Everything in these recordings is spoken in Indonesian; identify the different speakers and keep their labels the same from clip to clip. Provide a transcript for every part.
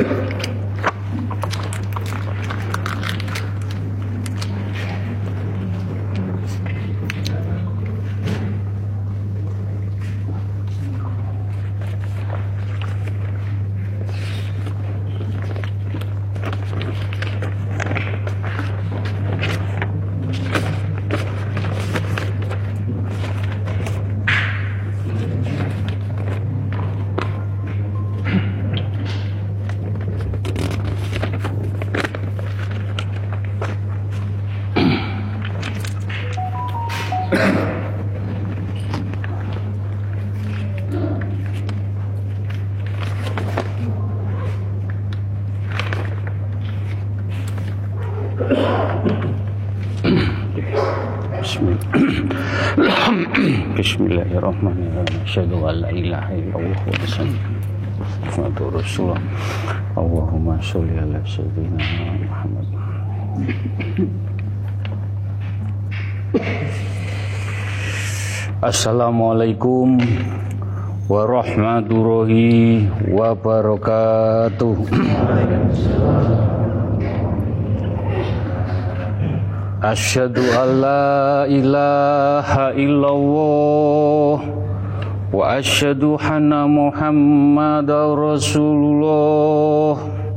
Speaker 1: Bismillahirrahmanirrahim. Asyhadu an la ilaha illallah wa asyhadu anna rasulullah. Allahumma sholli ala sayyidina Muhammad. Assalamualaikum warahmatullahi wabarakatuh. Asyhadu an la ilaha illallah wa asyhadu anna Muhammadar Rasulullah.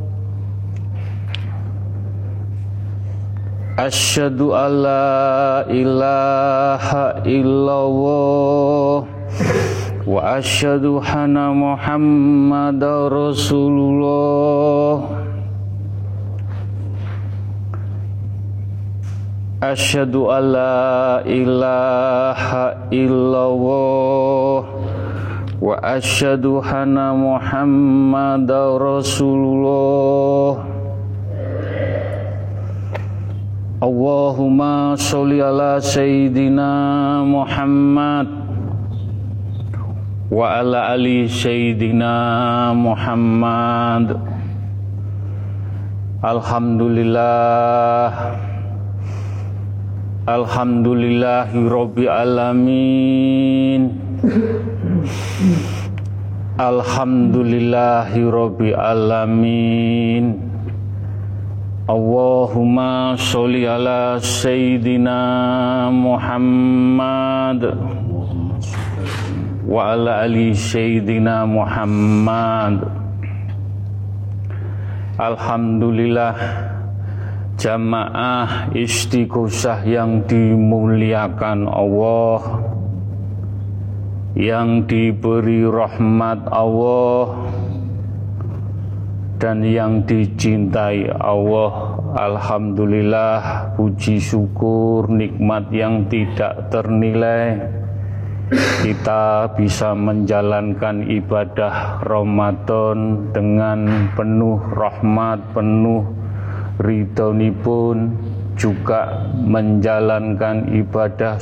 Speaker 1: Asyhadu an la ilaha illallah wa asyhadu anna Muhammadar Rasulullah. Asyhadu an la ilaha illallah wa asyhadu anna Muhammadar Rasulullah. Allahumma sholli ala sayyidina Muhammad wa ala ali sayyidina Muhammad. Alhamdulillah, alhamdulillahi rabbil alamin. Alhamdulillahi rabbil alamin. Allahumma sholli ala sayyidina Muhammad wa ala ali sayyidina Muhammad. Alhamdulillah, jamaah istighosah yang dimuliakan Allah, yang diberi rahmat Allah dan yang dicintai Allah. Alhamdulillah, puji syukur nikmat yang tidak ternilai, kita bisa menjalankan ibadah Ramadan dengan penuh rahmat, penuh ridhonipun, juga menjalankan ibadah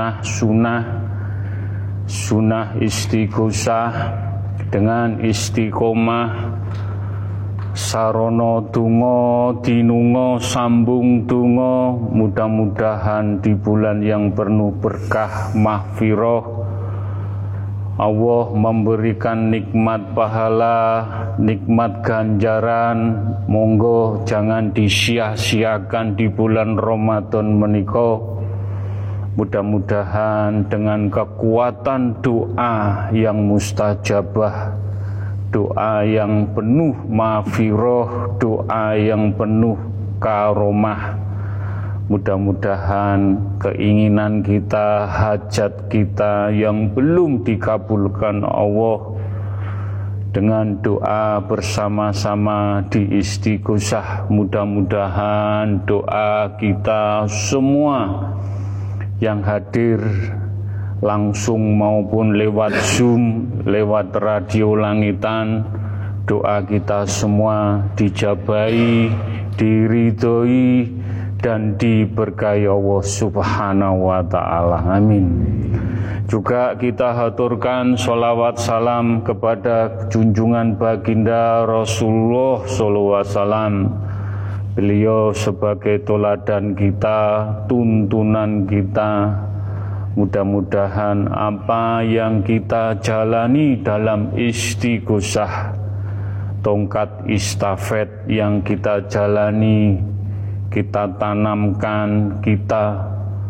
Speaker 1: sunnah istighosah dengan istiqomah, sarono donga dinunga sambung donga. Mudah-mudahan di bulan yang penuh berkah mahfirah Allah memberikan nikmat pahala, nikmat ganjaran. Monggo jangan disia-siakan di bulan Ramadan menika. Mudah-mudahan dengan kekuatan doa yang mustajabah, doa yang penuh maghfirah, doa yang penuh karomah, mudah-mudahan keinginan kita, hajat kita yang belum dikabulkan Allah, dengan doa bersama-sama di istighosah, mudah-mudahan doa kita semua yang hadir langsung maupun lewat Zoom, lewat radio langitan, doa kita semua dijabahi, diridhoi dan diberkahi Allah Subhanahu wa ta'ala. Amin. Juga kita haturkan sholawat salam kepada junjungan baginda Rasulullah SAW. Beliau sebagai teladan kita, tuntunan kita. Mudah-mudahan apa yang kita jalani dalam istighosah tongkat estafet yang kita jalani, kita tanamkan, kita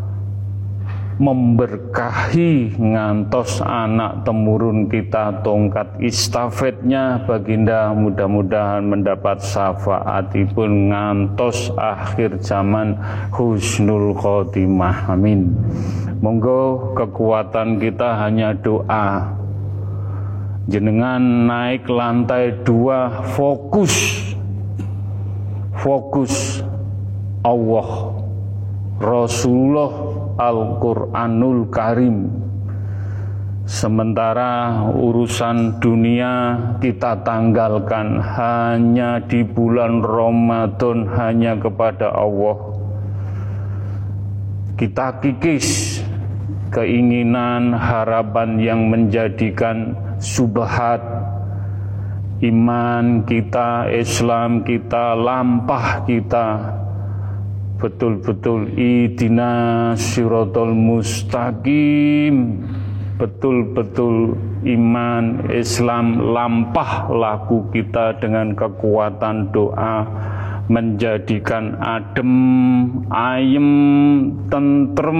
Speaker 1: memberkahi ngantos anak temurun kita tongkat estafetnya baginda mudah-mudahan mendapat syafaatipun ngantos akhir zaman husnul khotimah, amin. Monggo kekuatan kita hanya doa. Jenengan naik lantai 2, fokus Allah, Rasulullah, Al-Quranul Karim. Sementara urusan dunia kita tanggalkan hanya di bulan Ramadan, hanya kepada Allah. Kita kikis keinginan, harapan yang menjadikan subhat iman kita, Islam kita, lampah kita. Betul-betul ihdinas siratal mustaqim, betul-betul iman Islam lampah laku kita dengan kekuatan doa, menjadikan adem, ayem, tentrem,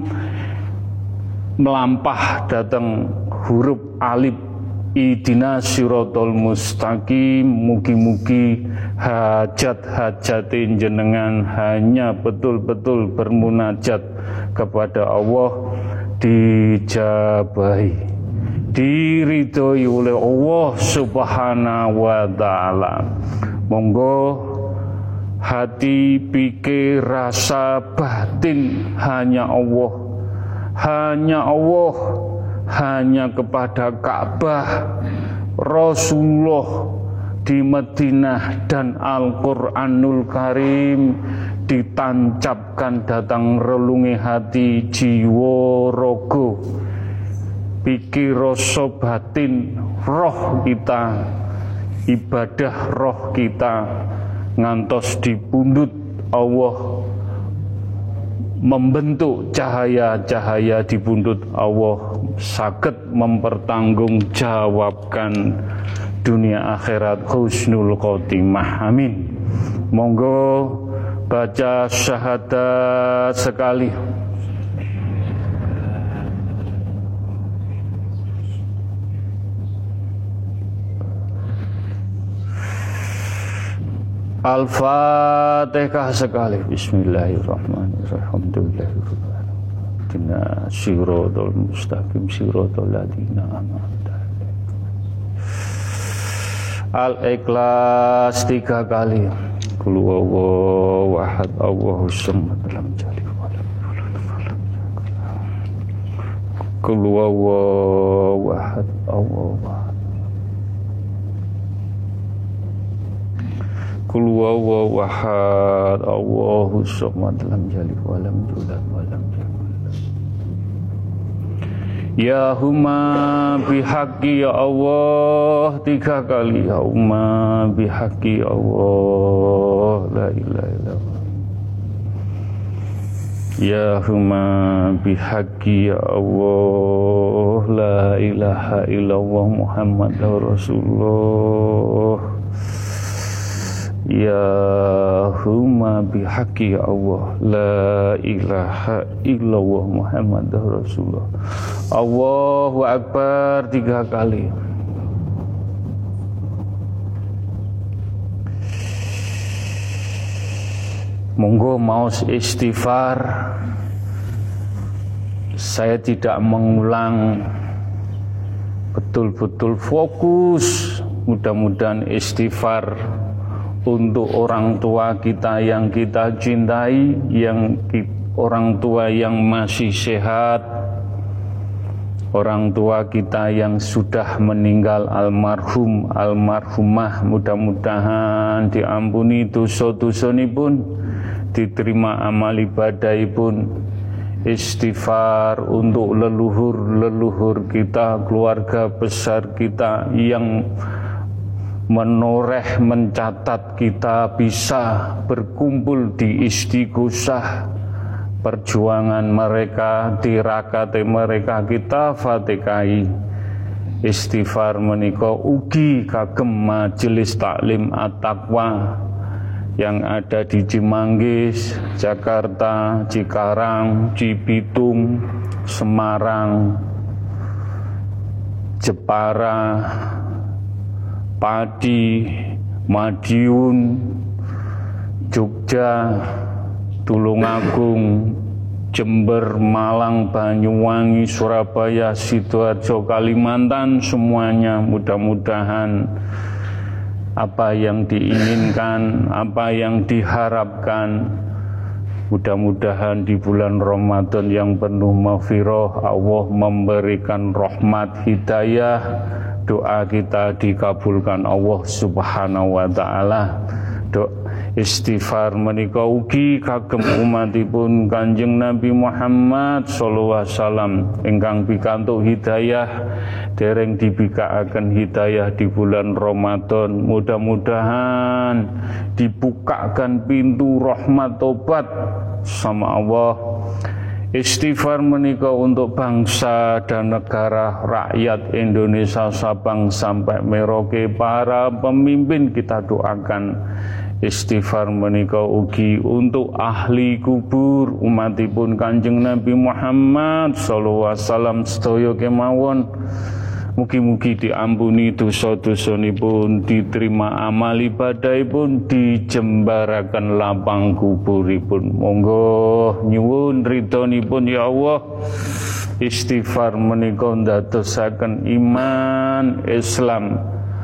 Speaker 1: melampah datang huruf alif ihdinas siratal mustaqim. Mugi-mugi hajat-hajatin jenengan hanya betul-betul bermunajat kepada Allah dijabahi, diridhoi oleh Allah Subhanahu wa taala. Monggo hati, pikir, rasa, batin hanya Allah, hanya kepada Ka'bah, Rasulullah di Madinah dan Al-Quranul Karim ditancapkan datang relungi hati, jiwa, rogo, pikir, rasa, batin, roh kita, ibadah roh kita ngantos dipundhut Allah, membentuk cahaya-cahaya di pundut Allah, saged mempertanggungjawabkan dunia akhirat husnul khotimah, amin. Monggo baca syahadat sekali. Al-Fatihah sekali. Bismillahirrahmanirrahim. Alhamdulillahirrahmanirrahim. Siratal mustaqim, siratal ladzina an'amta alaihim. Al-Ikhlas 3 kali. Qul huwallahu ahad, Allahus samad, lam yalid walam yulad walam yakul lahu. Qul huwallahu ahad, Allahu ahad. Qul huwallahu ahad, Allahus samad, lam yalid walam yulad walam yakul lahu. Ya huma bihaqqi ya Allah 3 kali. Ya huma bihaqqi ya Allah, la ilaha illallah. Ya huma bihaqqi ya Allah, la ilaha illallah Muhammadur Rasulullah. Ya huma bihaqqi ya Allah, la ilaha illallah Muhammadur Rasulullah. Allahu Akbar 3 kali. Monggo mau istighfar. Saya tidak mengulang, betul-betul fokus. Mudah-mudahan istighfar untuk orang tua kita yang kita cintai, orang tua yang masih sehat, orang tua kita yang sudah meninggal, almarhum, almarhumah, mudah-mudahan diampuni dosa-dosanipun, diterima amal ibadahipun. Istighfar untuk leluhur-leluhur kita, keluarga besar kita yang menoreh, mencatat kita bisa berkumpul di istighosah. Perjuangan mereka, tirakate mereka kita fatikai. Istighfar menika ugi kagem majelis taklim at-taqwa yang ada di Cimanggis, Jakarta, Cikarang, Cibitung, Semarang, Jepara, Padi, Madiun, Jogja, Tulungagung, Jember, Malang, Banyuwangi, Surabaya, Sidoarjo, Kalimantan, semuanya mudah-mudahan apa yang diinginkan, apa yang diharapkan, mudah-mudahan di bulan Ramadan yang penuh maghfirah Allah memberikan rahmat hidayah, doa kita dikabulkan Allah Subhanahu wa taala. Istighfar menika ugi kagem umatipun Kanjeng Nabi Muhammad sallallahu alaihi wasallam ingkang pikantuk hidayah dereng dibikaaken hidayah di bulan Ramadan. Mudah-mudahan dibukakan pintu rahmat tobat sama Allah. Istighfar menika untuk bangsa dan negara, rakyat Indonesia Sabang sampai Merauke, para pemimpin kita doakan. Istighfar menika ugi untuk ahli kubur umatipun Kanjeng Nabi Muhammad sallallahu alaihi wasallam sedaya kemawon. Mugi-mugi diampuni dosa-dosanipun, diterima amal ibadahipun, dijembaraken lapang kuburipun. Monggo nyuwun ridhonipun ya Allah. Istighfar menika ndadosaken iman Islam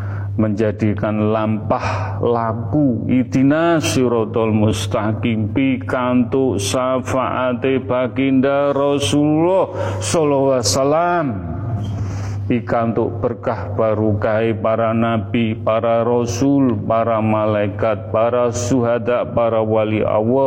Speaker 1: menjadikan lampah laku ihdinas siratal mustaqim pikantuk syafaate baginda Rasulullah sallallahu alaihi wasallam, pikantuk berkah barokah para nabi, para rasul, para malaikat, para syuhada, para wali Allah,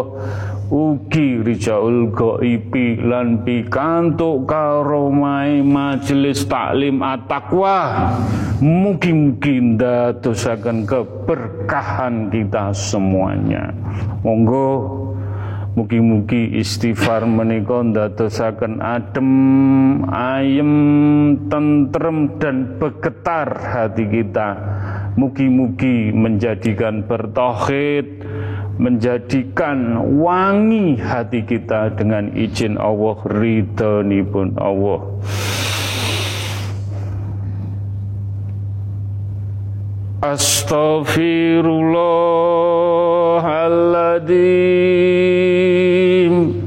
Speaker 1: ugi rijaul ghaibi lan pikantuk karomai majelis taklim at-taqwa. Mugi-mugi ndadosaken keberkahan kita semuanya. Monggo mugi-mugi istighfar menika ndadosaken adem, ayem, tentrem dan bergetar hati kita. Mugi-mugi menjadikan bertauhid, menjadikan wangi hati kita dengan izin Allah, ridhonipun Allah. Astaghfirullahaladzim.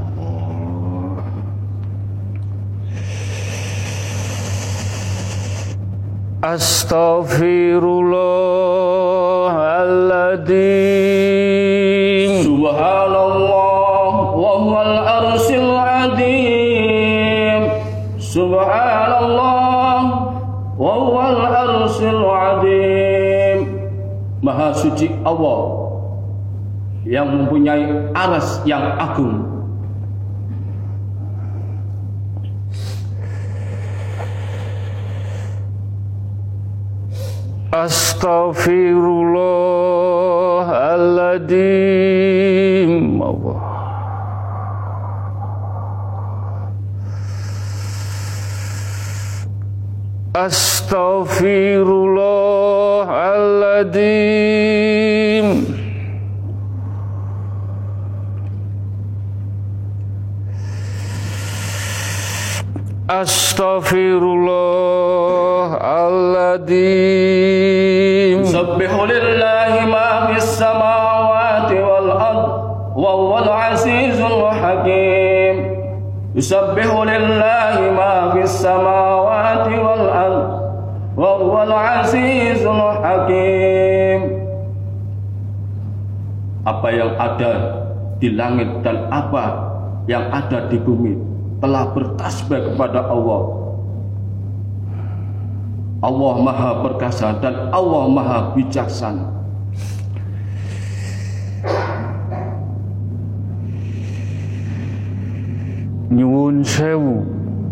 Speaker 1: Astaghfirullahaladzim.
Speaker 2: Subhanallah wa huwal arsyil azim. Subhanallah wa huwal arsyil azim. Maha suci Allah yang mempunyai aras yang agung.
Speaker 1: Astaghfirullahaladzim. Allah. Astaghfirullahaladzim. Astaghfirullahaladzim.
Speaker 2: Yusabbihu lillahi ma fis samawati wal ard wa huwal azizul hakim. Yusabbihu lillahi ma fis samawati wal ard wa huwal azizul hakim. Apa yang ada di langit dan apa yang ada di bumi telah bertasbih kepada Allah. Allah Maha Perkasa dan Allah Maha Bijaksana.
Speaker 1: Nyuwun sewu,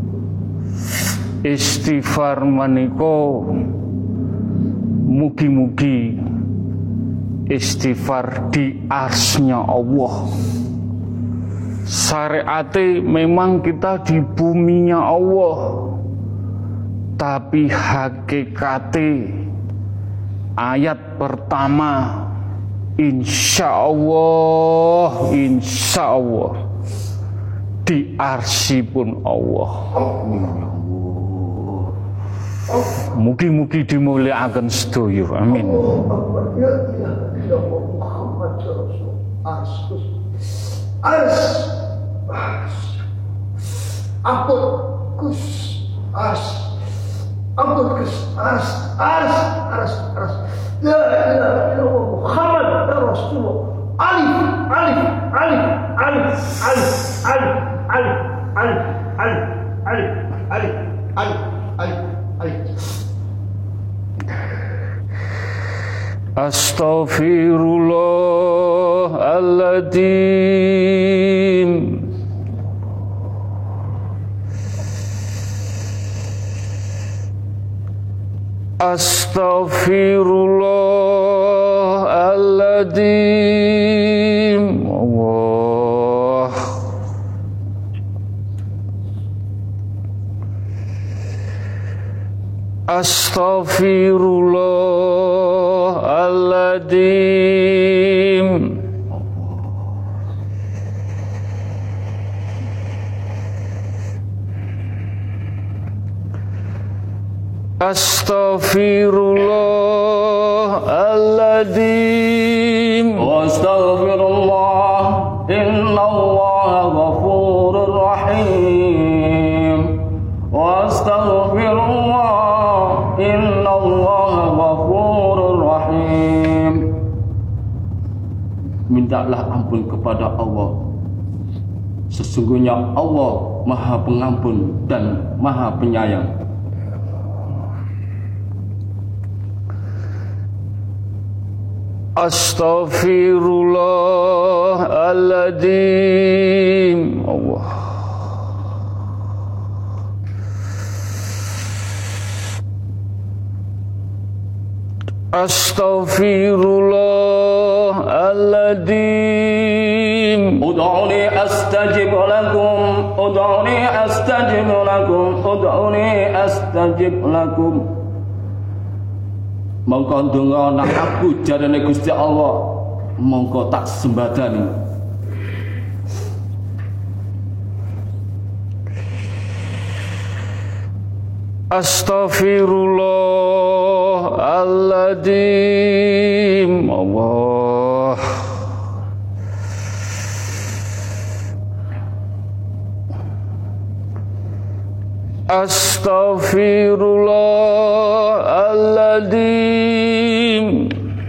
Speaker 1: istighfar menika mugi-mugi istighfar di arsnya Allah. Syariate memang kita di buminya Allah, tapi hakikate ayat pertama insya Allah di arsipun Allah. Mugi-mugi dimulyakaken sedaya. Amin.
Speaker 3: La ilaha illallah Muhammad Rasulullah.
Speaker 1: Astaghfirullahaladzim. Astaghfirullahaladzim. Allah. Astaghfirullahaladzim. Astaghfirullahaladzim.
Speaker 2: Astaghfirullah, innallaha ghafurur rahim. Astaghfirullah, innallaha ghafurur rahim. Mintalah ampun kepada Allah. Sesungguhnya Allah Maha Pengampun dan Maha Penyayang.
Speaker 1: Astaghfirullahaladzim. Allah. Astaghfirullahaladzim.
Speaker 2: Ud'uni astajib lakum, ud'uni astajib lakum, ud'uni astajib lakum. Mongko ndonga nang aku jarane Gusti Allah, mongko tak sembadani.
Speaker 1: Astaghfirullahaladzim. Allah. Astaghfirullahaladzim.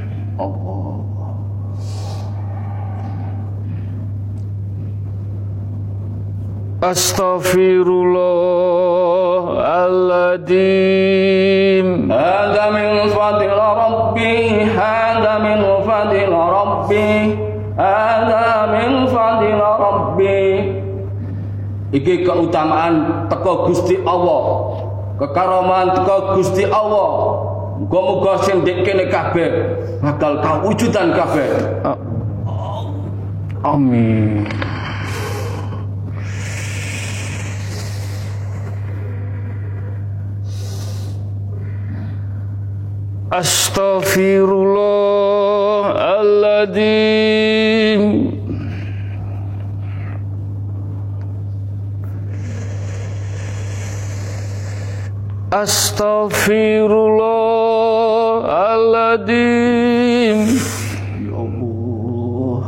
Speaker 1: Astaghfirullahaladzim.
Speaker 2: Hada min fadil Rabbi, hada min fadil Rabbi, hada min fadil Rabbi. Iki keutamaan teko Gusti Allah, kekaraman teko Gusti Allah. Muga-muga sing ndek kene kabeh bakal kawujudan kabeh.
Speaker 1: Amin. Astaghfirullahaladzim. Astaghfirullahaladzim.
Speaker 2: Ya Allah.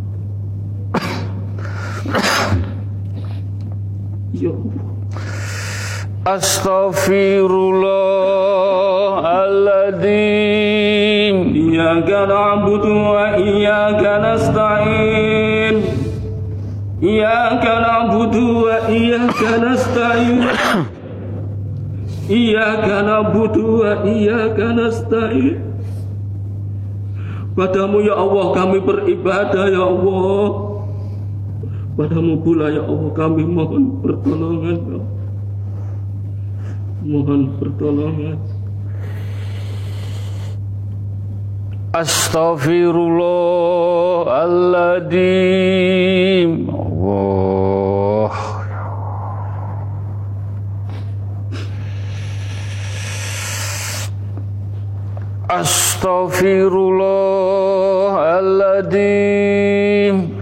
Speaker 2: Ya Allah.
Speaker 1: Astaghfirullahaladzim.
Speaker 2: Iyyaka na'budu wa iyyaka nasta'in. Iyyaka na'budu wa iyyaka nasta'in. Iyyaka na'budu wa iyyaka nasta'in. Padamu ya Allah kami beribadah ya Allah. Padamu pula ya Allah kami mohon pertolongan ya Allah. Mohon pertolongan.
Speaker 1: Astaghfirullahaladzim. Allah. Astaghfirullahaladzim.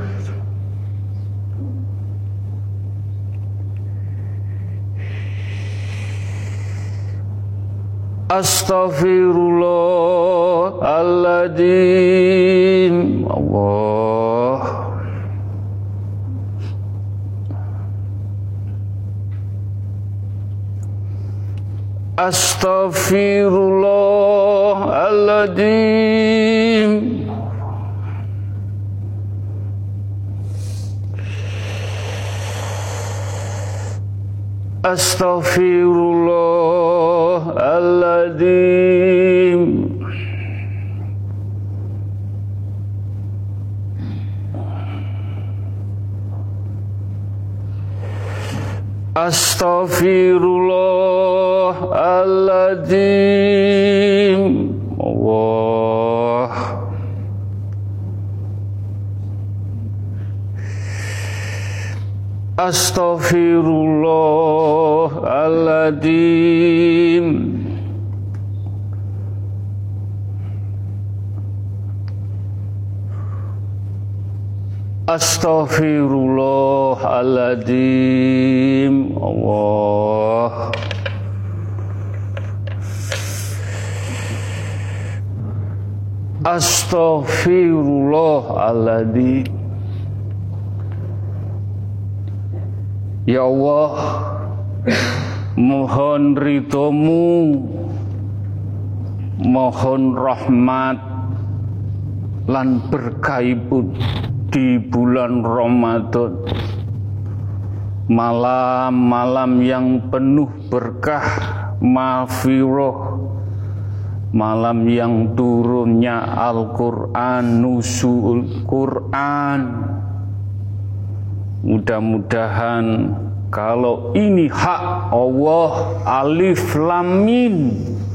Speaker 1: Astaghfirullahaladzim. Allah. Astaghfirullahaladzim. Astaghfirullahaladzim. Astaghfirullahaladzim. Allah. Astaghfirullahaladzim. Astaghfirullahaladzim. Allah. Astaghfirullahaladzim. Ya Allah, mohon ridho-Mu, mohon rahmat lan berkahipun di bulan Ramadan, malam-malam yang penuh berkah, maghfirah, malam yang turunnya Al-Quran, nuzul Quran. Mudah-mudahan kalau ini hak Allah, alif lam mim,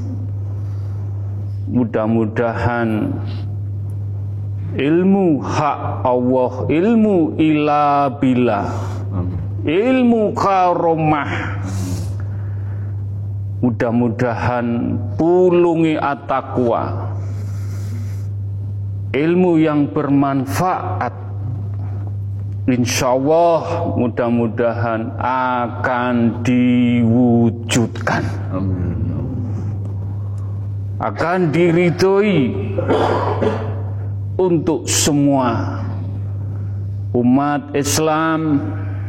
Speaker 1: mudah-mudahan ilmu hak Allah, ilmu ila billah, ilmu karomah, mudah-mudahan pulungi at-taqwa, ilmu yang bermanfaat. Insyaallah mudah-mudahan akan diwujudkan, akan diridhoi untuk semua umat Islam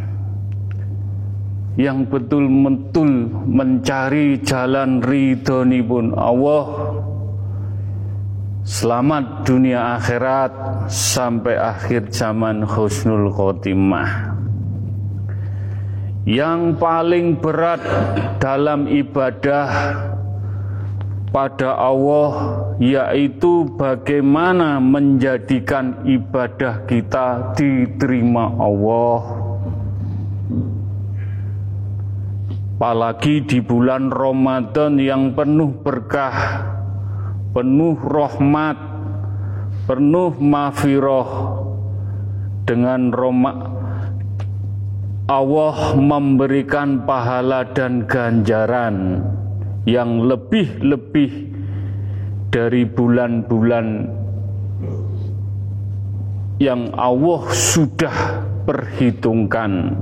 Speaker 1: yang betul-betul mencari jalan ridhonipun Allah. Selamat dunia akhirat sampai akhir zaman husnul khotimah. Yang paling berat dalam ibadah pada Allah yaitu bagaimana menjadikan ibadah kita diterima Allah. Apalagi di bulan Ramadan yang penuh berkah, penuh rahmat, penuh maghfirah. Dengan Allah memberikan pahala dan ganjaran yang lebih-lebih dari bulan-bulan yang Allah sudah perhitungkan.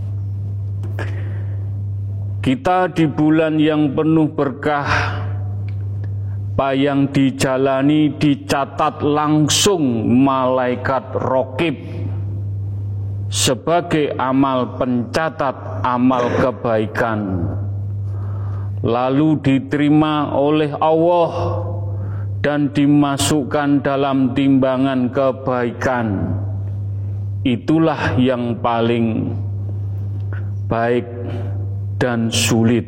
Speaker 1: Kita di bulan yang penuh berkah, apa yang dijalani dicatat langsung malaikat raqib sebagai amal pencatat amal kebaikan, lalu diterima oleh Allah dan dimasukkan dalam timbangan kebaikan. Itulah yang paling baik dan sulit.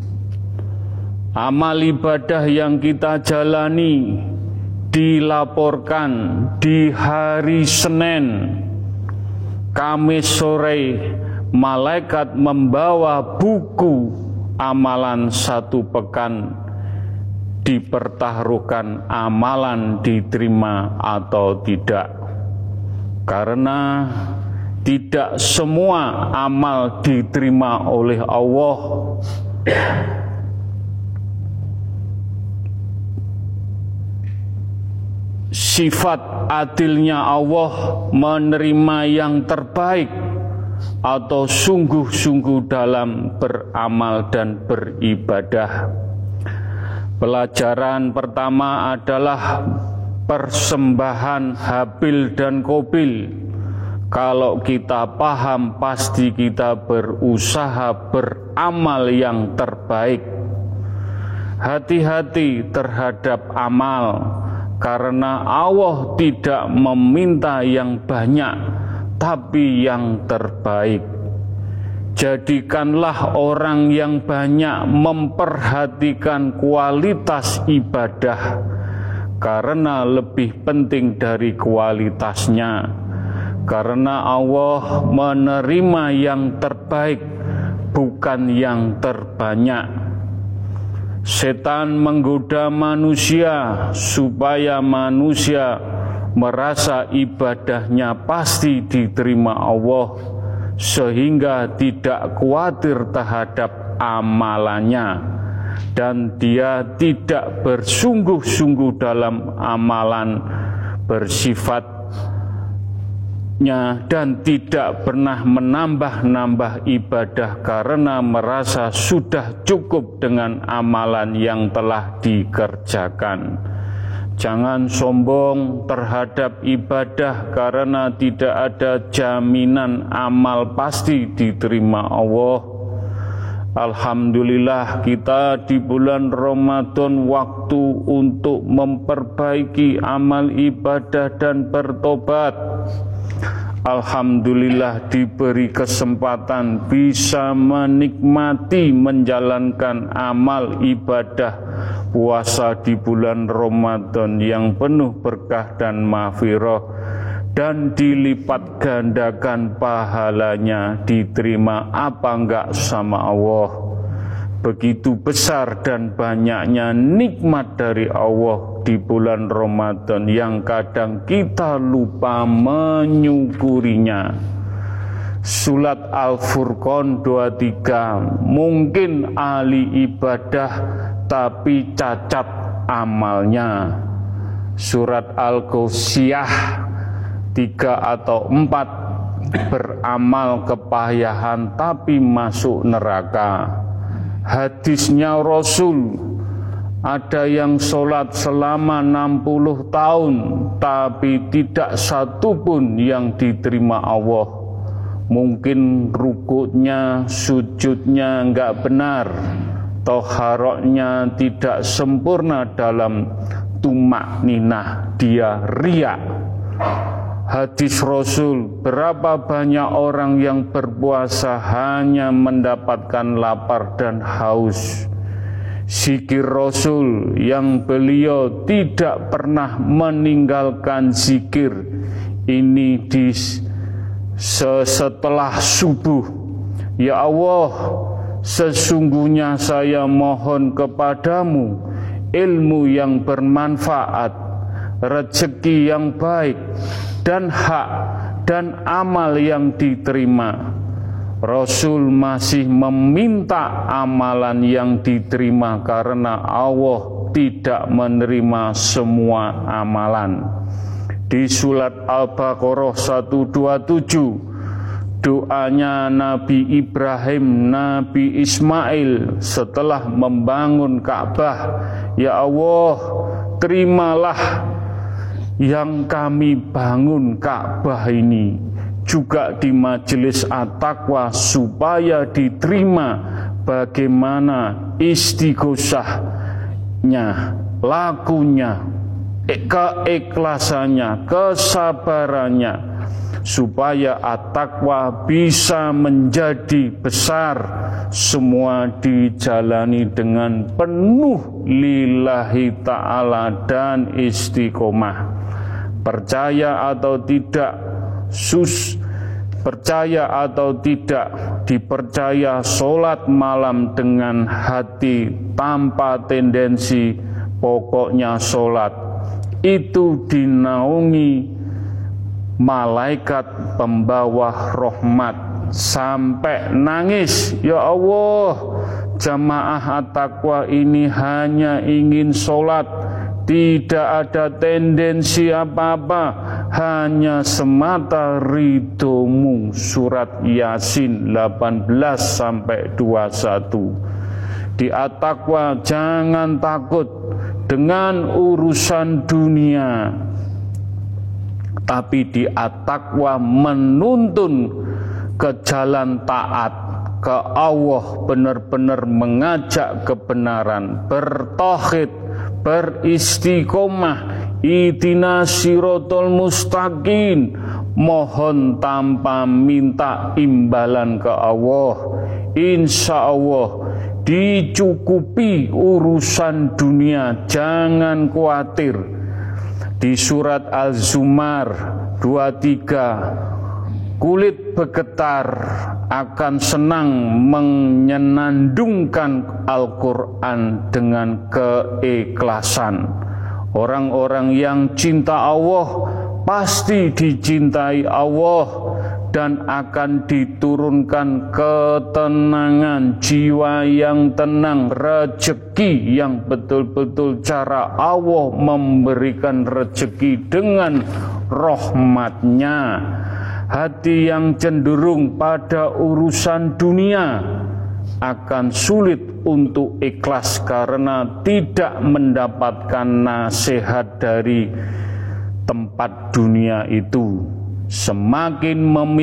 Speaker 1: Amal ibadah yang kita jalani dilaporkan di hari Senin, Kamis sore, malaikat membawa buku amalan satu pekan, dipertaruhkan amalan diterima atau tidak. Karena tidak semua amal diterima oleh Allah. sifat adilnya Allah menerima yang terbaik atau sungguh-sungguh dalam beramal dan beribadah. Pelajaran pertama adalah persembahan Habil dan Qabil. Kalau kita paham, pasti kita berusaha beramal yang terbaik. Hati-hati terhadap amal, karena Allah tidak meminta yang banyak, tapi yang terbaik. Jadikanlah orang yang banyak memperhatikan kualitas ibadah, karena lebih penting dari kualitasnya. Karena Allah menerima yang terbaik, bukan yang terbanyak. Setan menggoda manusia supaya manusia merasa ibadahnya pasti diterima Allah, sehingga tidak khawatir terhadap amalannya, dan dia tidak bersungguh-sungguh dalam amalan bersifatnya, dan tidak pernah menambah-nambah ibadah karena merasa sudah cukup dengan amalan yang telah dikerjakan. Jangan sombong terhadap ibadah, karena tidak ada jaminan amal pasti diterima Allah. Alhamdulillah, kita di bulan Ramadan waktu untuk memperbaiki amal ibadah dan bertobat. Alhamdulillah diberi kesempatan bisa menikmati menjalankan amal ibadah puasa di bulan Ramadan yang penuh berkah dan maghfirah, dan dilipat gandakan pahalanya, diterima apa enggak sama Allah. Begitu besar dan banyaknya nikmat dari Allah di bulan Ramadan yang kadang kita lupa menyukurinya. Surat Al-Furqan 23, mungkin ahli ibadah tapi cacat amalnya. Surat Al-Ghasyiyah 3 atau 4, beramal kepayahan tapi masuk neraka. Hadisnya Rasul, ada yang sholat selama 60 tahun tapi tidak satu pun yang diterima Allah. Mungkin rukuknya, sujudnya enggak benar, toharoknya tidak sempurna dalam tumakninah, dia riya. Hadis Rasul, berapa banyak orang yang berpuasa hanya mendapatkan lapar dan haus. Zikir Rasul yang beliau tidak pernah meninggalkan zikir ini di setelah subuh. Ya Allah, sesungguhnya saya mohon kepadamu ilmu yang bermanfaat, rezeki yang baik, dan hak dan amal yang diterima. Rasul masih meminta amalan yang diterima karena Allah tidak menerima semua amalan. Di surat Al-Baqarah 127, doanya Nabi Ibrahim, Nabi Ismail setelah membangun Ka'bah, ya Allah, terimalah yang kami bangun Ka'bah ini, juga di majelis At-Taqwa, supaya diterima bagaimana istighosahnya, lakunya, keikhlasannya, kesabarannya, supaya At-Taqwa bisa menjadi besar, semua dijalani dengan penuh lillahi ta'ala dan istiqomah. Percaya atau tidak, percaya atau tidak, dipercaya sholat malam dengan hati tanpa tendensi, pokoknya sholat itu dinaungi malaikat pembawa rahmat sampai nangis. Ya Allah, jamaah At-Taqwa ini hanya ingin sholat tidak ada tendensi apa-apa, hanya semata ridhomu. Surat Yasin 18-21. Di at-taqwa, jangan takut dengan urusan dunia, tapi di at-taqwa menuntun ke jalan taat ke Allah, benar-benar mengajak kebenaran, bertauhid, beristiqomah, ihdinas siratal mustaqim, mohon tanpa minta imbalan ke Allah. Insya Allah dicukupi urusan dunia, jangan khawatir. Di surat Al-Zumar 23, kulit bergetar akan senang menyenandungkan Al-Quran dengan keikhlasan. Orang-orang yang cinta Allah pasti dicintai Allah, dan akan diturunkan ketenangan, jiwa yang tenang, rezeki yang betul-betul cara Allah memberikan rezeki dengan rahmatnya. Hati yang cenderung pada urusan dunia akan sulit untuk ikhlas karena tidak mendapatkan nasihat dari tempat dunia itu. Semakin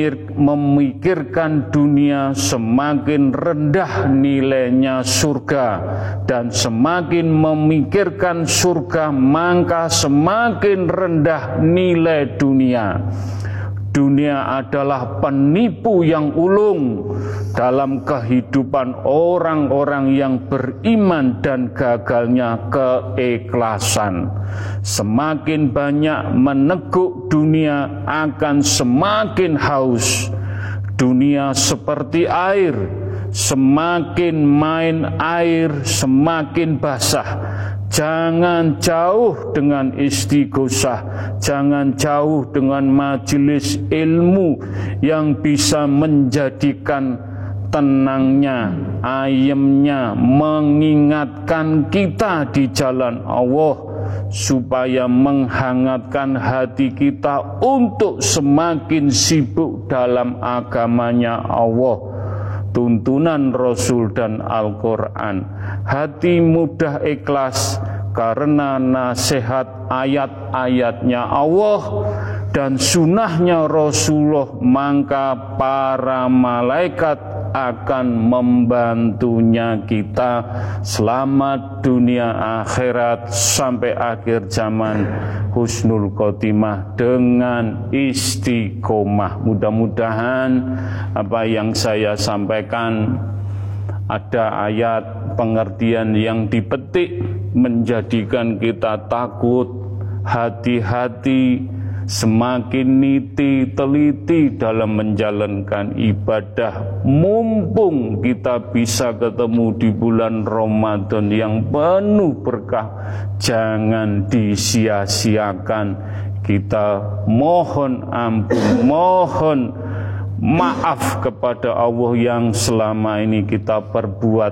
Speaker 1: memikirkan dunia, semakin rendah nilainya surga, dan semakin memikirkan surga, maka semakin rendah nilai dunia. Dunia adalah penipu yang ulung dalam kehidupan orang-orang yang beriman dan gagalnya keikhlasan. Semakin banyak meneguk dunia akan semakin haus. Dunia seperti air, semakin main air semakin basah. Jangan jauh dengan istighosah, jangan jauh dengan majelis ilmu yang bisa menjadikan tenangnya, ayemnya, mengingatkan kita di jalan Allah, supaya menghangatkan hati kita untuk semakin sibuk dalam agamanya Allah, tuntunan Rasul dan Al-Quran. Hati mudah ikhlas karena nasihat ayat-ayatnya Allah dan sunnahnya Rasulullah, maka para malaikat akan membantunya kita selamat dunia akhirat sampai akhir zaman, husnul khotimah dengan istiqomah. Mudah-mudahan apa yang saya sampaikan ada ayat pengertian yang dipetik menjadikan kita takut, hati-hati, semakin niti teliti dalam menjalankan ibadah. Mumpung kita bisa ketemu di bulan Ramadan yang penuh berkah, jangan disia-siakan. Kita mohon ampun, mohon maaf kepada Allah yang selama ini kita perbuat,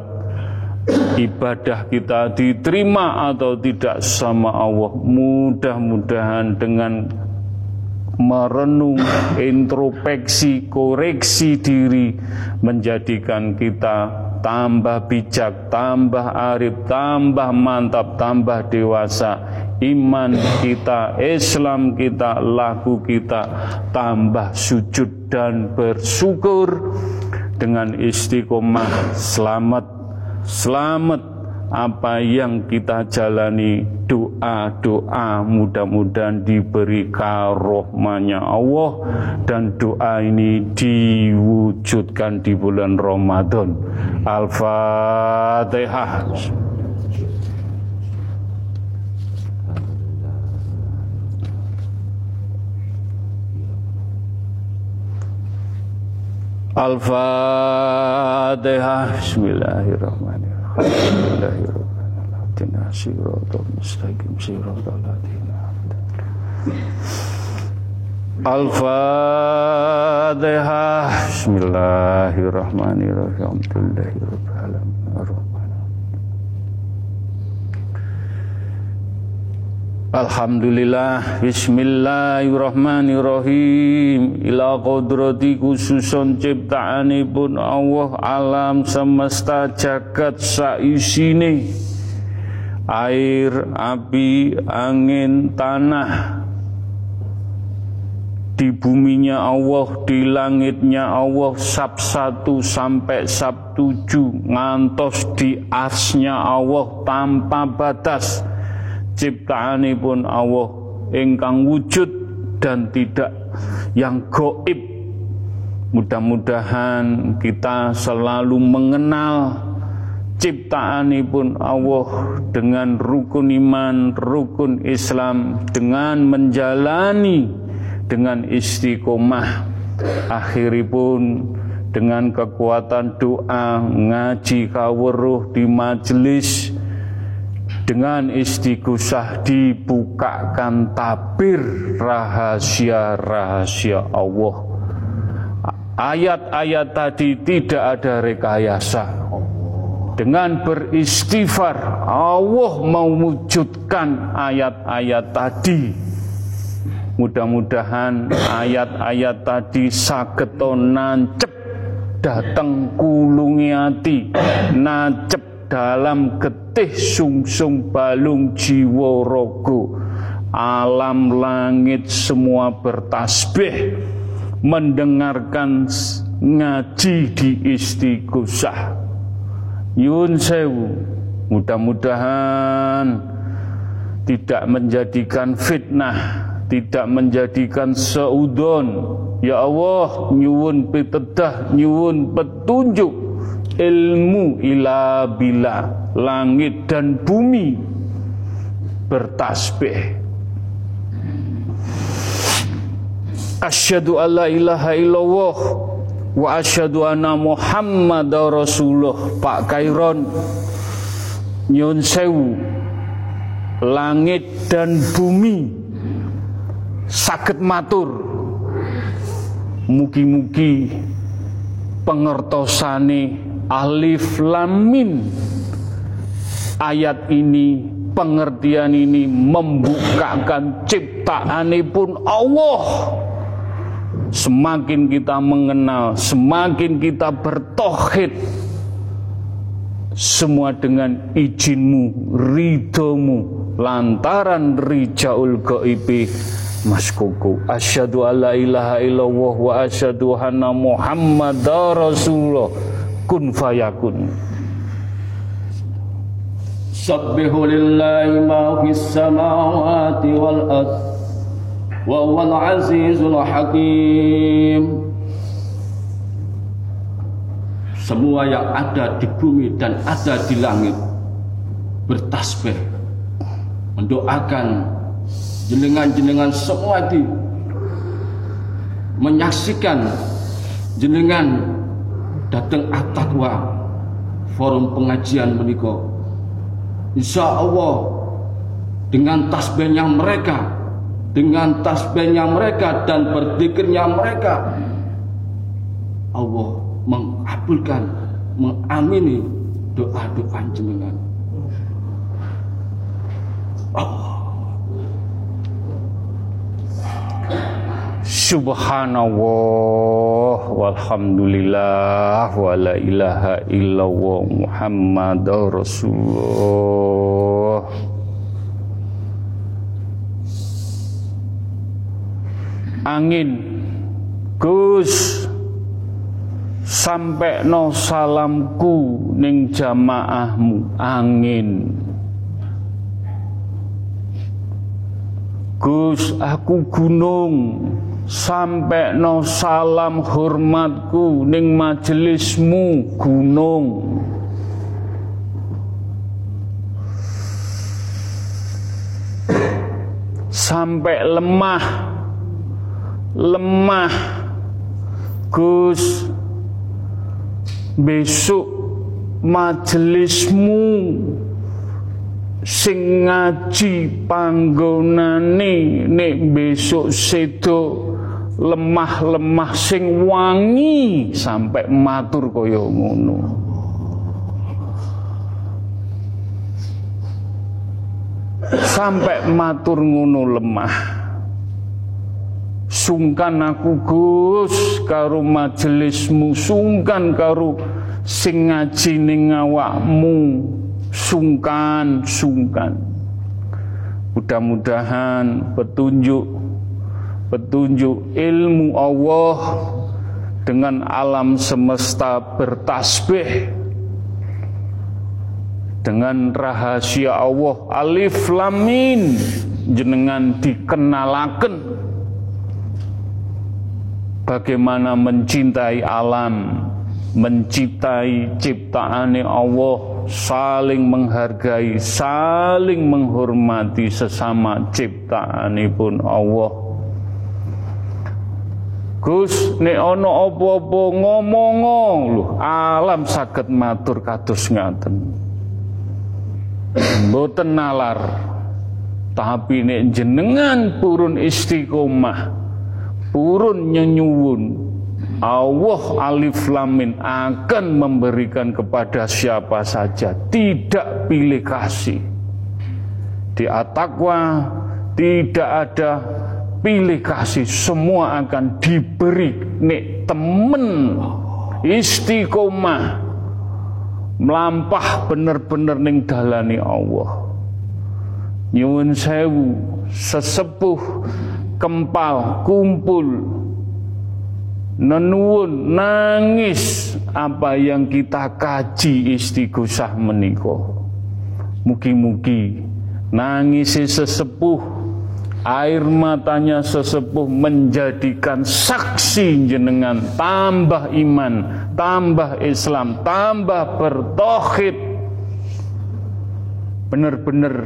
Speaker 1: ibadah kita diterima atau tidak sama Allah. Mudah-mudahan dengan merenung, introspeksi, koreksi diri menjadikan kita tambah bijak, tambah arif, tambah mantap, tambah dewasa. Iman kita, Islam kita, laku kita tambah sujud dan bersyukur. Dengan istiqomah selamat apa yang kita jalani. Doa-doa mudah-mudahan diberi karunia Allah, dan doa ini diwujudkan di bulan Ramadan. Al-Fatihah. Al-Fatihah. Bismillahirrahmanirrahim. Bismillahirrahmanirrahim. Siratal mustaqim, siratal ladzina Al-Fatihah. Bismillahirrahmanirrahim. Alhamdulillahirabbil alamin. Alhamdulillah, bismillahirrahmanirrahim. Ila qadrati khususon ciptaanipun Allah alam semesta jagat saisine. Air, api, angin, tanah. Di buminya Allah, di langitnya Allah, sab 1 sampai sab 7, ngantos di arsnya Allah tanpa batas. Ciptaanipun Allah ingkang wujud dan tidak yang gaib. Mudah-mudahan kita selalu mengenal ciptaanipun Allah dengan rukun iman, rukun Islam, dengan menjalani dengan istiqomah. Akhiripun dengan kekuatan doa, ngaji kawruh di majelis, dengan istighosah dibukakan tabir rahasia-rahasia Allah. Ayat-ayat tadi tidak ada rekayasa. Dengan beristighfar Allah mewujudkan ayat-ayat tadi. Mudah-mudahan ayat-ayat tadi sageta nancep dateng kulungi ati, nancep dalam getih sungsung balung jiwa rogo. Alam langit semua bertasbih mendengarkan ngaji di istighosah. Yun sewu, mudah-mudahan tidak menjadikan fitnah, tidak menjadikan seudon. Ya Allah, nyuwun pitedah, nyuwun petunjuk, ilmu ila bila, langit dan bumi bertasbih. Asyhadu alla ilaha illallah wa asyhadu anna Muhammadar Rasulullah. Pak Kairon, nyun sewu, langit dan bumi saged matur, mugi-mugi pengertosane alif lam mim ayat ini, pengertian ini membukakan ciptaanipun Allah. Semakin kita mengenal, semakin kita bertauhid, semua dengan izinmu, ridhomu, lantaran rijaul ghaibi Mas Koko. Asyhadu alla ilaha illallah wa asyhadu anna Muhammadar Rasulullah. Kun fayakun.
Speaker 2: Sabbihu lillahi ma fis samawati wal ardh wa huwal azizul hakim. Semua yang ada di bumi dan ada di langit bertasbih mendoakan jenengan-jenengan semua di menyaksikan jenengan datang at-taqwa forum pengajian menika. Insya Allah dengan tasbihnya mereka, dengan tasbihnya mereka dan berzikirnya mereka, Allah mengabulkan, mengamini doa-doa jenengan. Allah.
Speaker 1: Subhanallah walhamdulillah wa la ilaha illallah Muhammadar Rasulullah. Angin Gus, sampai no salamku ning jamaahmu. Angin Gus, aku gunung, sampai no salam hormatku ning majelismu. Gunung sampai lemah Gus, besok majelismu sing ngaji panggonane nek besok sedo lemah sing wangi, sampai matur kaya ngono. sampai matur ngono lemah. Sungkan aku Gus karo majelismu, sungkan karo sing ngaji ning awakmu, sungkan. Mudah-mudahan petunjuk ilmu Allah dengan alam semesta bertasbih dengan rahasia Allah alif lam mim jenengan dikenalaken bagaimana mencintai alam, mencintai ciptaane Allah, saling menghargai, saling menghormati sesama ciptaanipun Allah. Gus, nek ana apa-apa ngomong lho, alam saged matur kados ngaten. Mboten nalar. Tapi nek jenengan purun istiqomah, purun nyenyuwun, Allah alif lam mim akan memberikan kepada siapa saja, tidak pilih kasih. Di at-taqwa tidak ada pilih kasih, semua akan diberi. Nek temen istiqomah melampah bener-bener ning dalane Allah. Nyuwun sewu, sesepuh kempal kumpul nenuwun nangis apa yang kita kaji istighosah menika. Mugi-mugi nangisi sesepuh, air matanya sesepuh menjadikan saksi jenengan tambah iman, tambah Islam, tambah bertauhid, benar-benar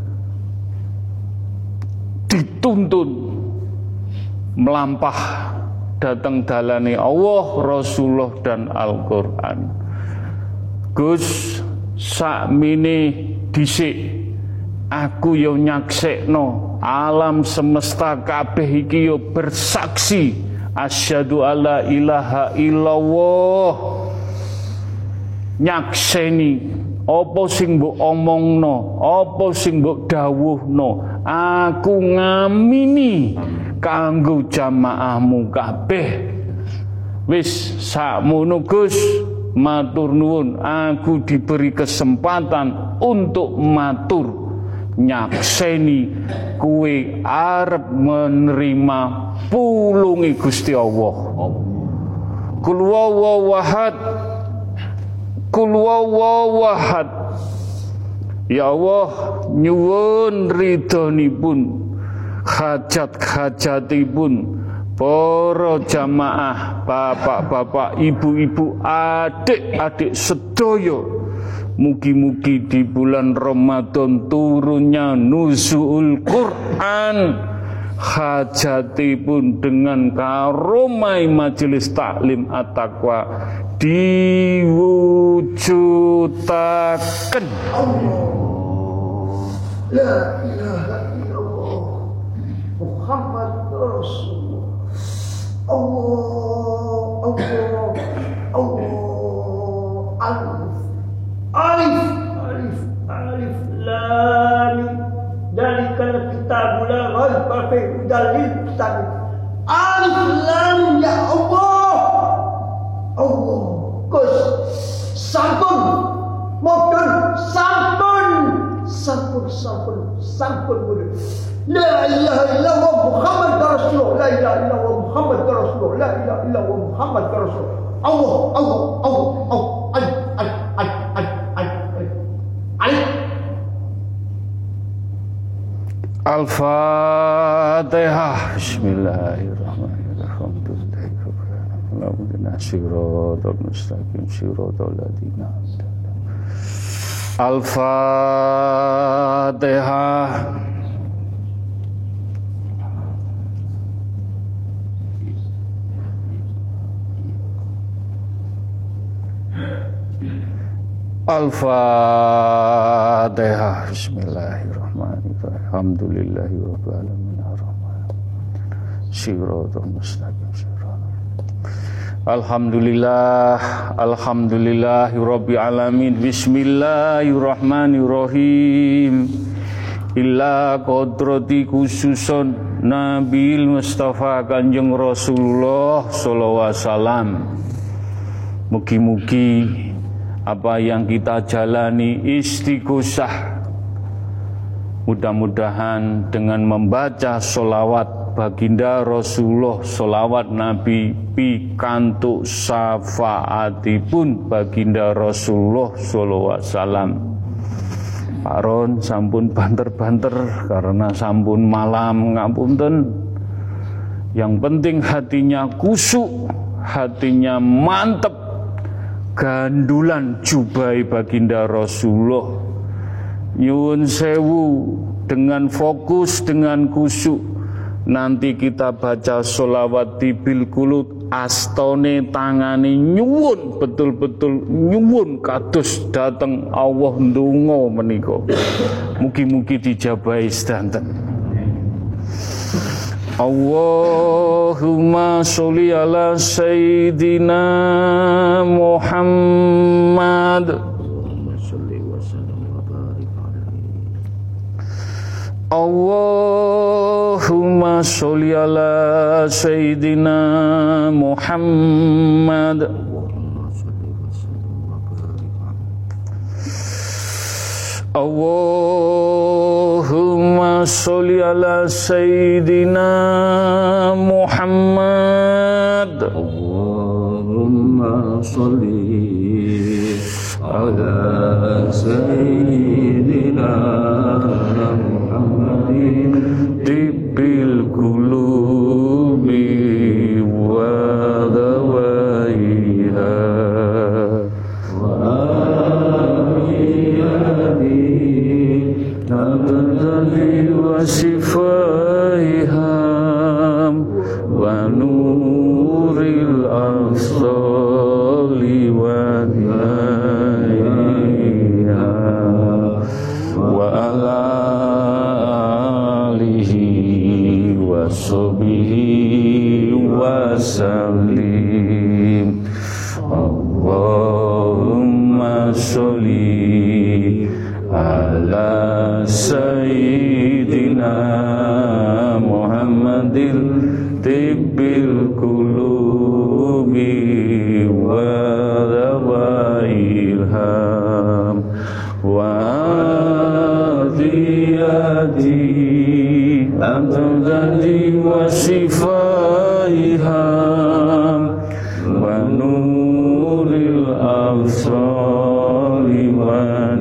Speaker 1: dituntun melampah datang dalane Allah, Rasulullah dan Al-Quran. Gus, sakmene dhisik aku yo nyaksekno alam semesta kabeh iki yo bersaksi asyhadu alla ilaha illallah. Nyakseni apa sing mbok omongno, apa sing mbok dawuhno, aku ngamini kanggo jamaahmu kabeh. Wis sakmono Gus, matur nuwun, aku diberi kesempatan untuk matur nyakseni kuwe arep menerima pulungi Gusti Allah. Kul huwallahu ahad, kul huwallahu ahad. Ya Allah, nyuwun ridhonipun, hajat-hajatipun para jamaah, bapak-bapak, ibu-ibu, adik-adik sedaya. Mugi-mugi di bulan Ramadan turunnya nuzul Quran, hajatipun dengan karomai majelis taklim at-taqwa diwujudaken.
Speaker 3: La ilaha illallah Muhammad Rasulullah. Allah alif lam dalikal kitabul la raiba fihi dalil kitab. Alif lam ya Allah. Gus sampun modun sampun murid. La ilaha illallah Muhammad Rasulullah. La ilaha illallah Muhammad Rasulullah. La ilaha illallah Muhammad Rasulullah. Allah
Speaker 1: Al-Fatihah. Bismillahirrahmanirrahim. Al-Fatihah. Al-Fatihah. Bismillahirrahmanirrahim. Alhamdulillahirabbil alamin arrahmanir rahim. Shiratal mustaqim. Alhamdulillahirabbil alamin. Bismillahirrahmanirrahim. illa kodrati khususun Nabil Mustafa Kanjeng Rasulullah sallallahu alaihi wasallam. Mugi-mugi apa yang kita jalani istighosah, mudah-mudahan dengan membaca sholawat baginda Rasulullah, sholawat Nabi pikantuk syafaatipun baginda Rasulullah sallallahu alaihi wasallam. Pak Ron sampun banter-banter karena sampun malam, ngapunten. Yang penting hatinya kusuk, hatinya mantep, gandulan jubai baginda Rasulullah. Nyuwun sewu, dengan fokus, dengan kusuk, nanti kita baca sholawat tibil kulut, astone tangani nyuwun, betul-betul nyuwun kados dateng Allah ndonga menika. Mugi-mugi dijabahi sedanten. Allahumma sholli ala sayyidina Muhammad. Allahumma sholli ala sayyidina Muhammad. Allahumma sholli ala sayyidina Muhammad.
Speaker 2: Allahumma sholli ala sayyidina Muhammadin
Speaker 1: tibbil qulubi wa dawaiha
Speaker 2: wa amiyadi nabtali
Speaker 1: wa sifaiham wa nuril asali wa diyaiha wa ala Sobihi wa salim. Allahumma sholli ala sayyidina Muhammadil tibbil qulubi wa dawailham wa adiyadi Amdadi wa sifaiham wa nuril absari wa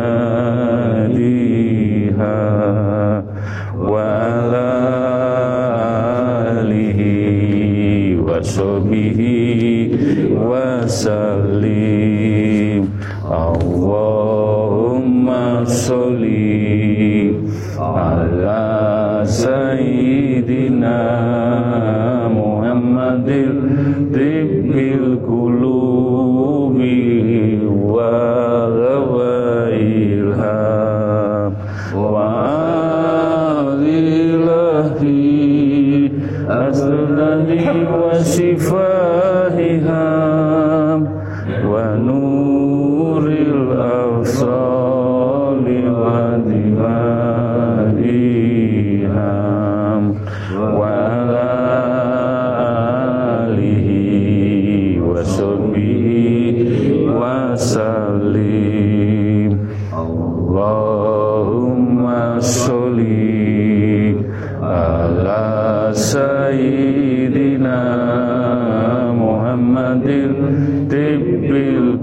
Speaker 1: dihadiha wa ala alihi wa sahbihi wa salim. Allahumma sholli ala sayyidina Muhammadil tibbil qulubi wa dawailham wa alilahi asnani wa sifahiham wa nuril absali wa dimahiham wa ala alihi wa sahbihi wa salim. Allahumma sholli ala sayyidina Muhammadin tibbil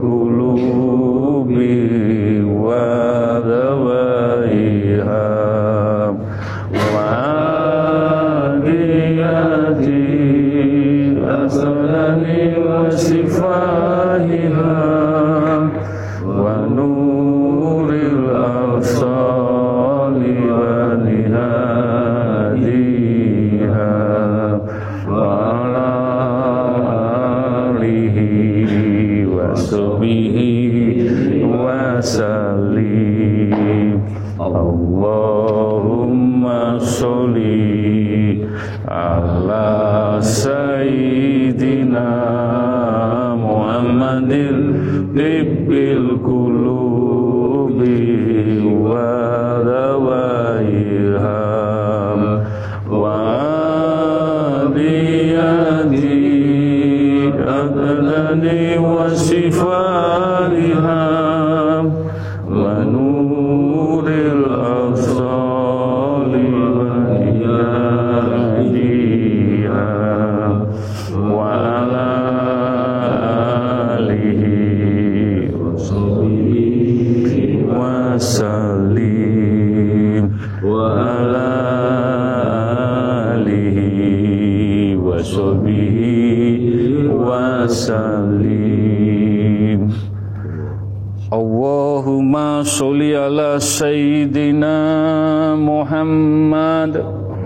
Speaker 1: qulubi wa dawaiham wa adiyati asnani wa sifahiham wa nuril absali wa nihadiha wa ala alihi wa sahbihi wa salim. Allahumma sholli ala sayyidina Muhammadil tibbil qulubi wa dawaiha وصفاتها ونور الأبصار وإيادها وعلى آله وصحبه وسلم وعلى آله وصحبه وسلم. Allahumma sholli ala sayyidina Muhammad.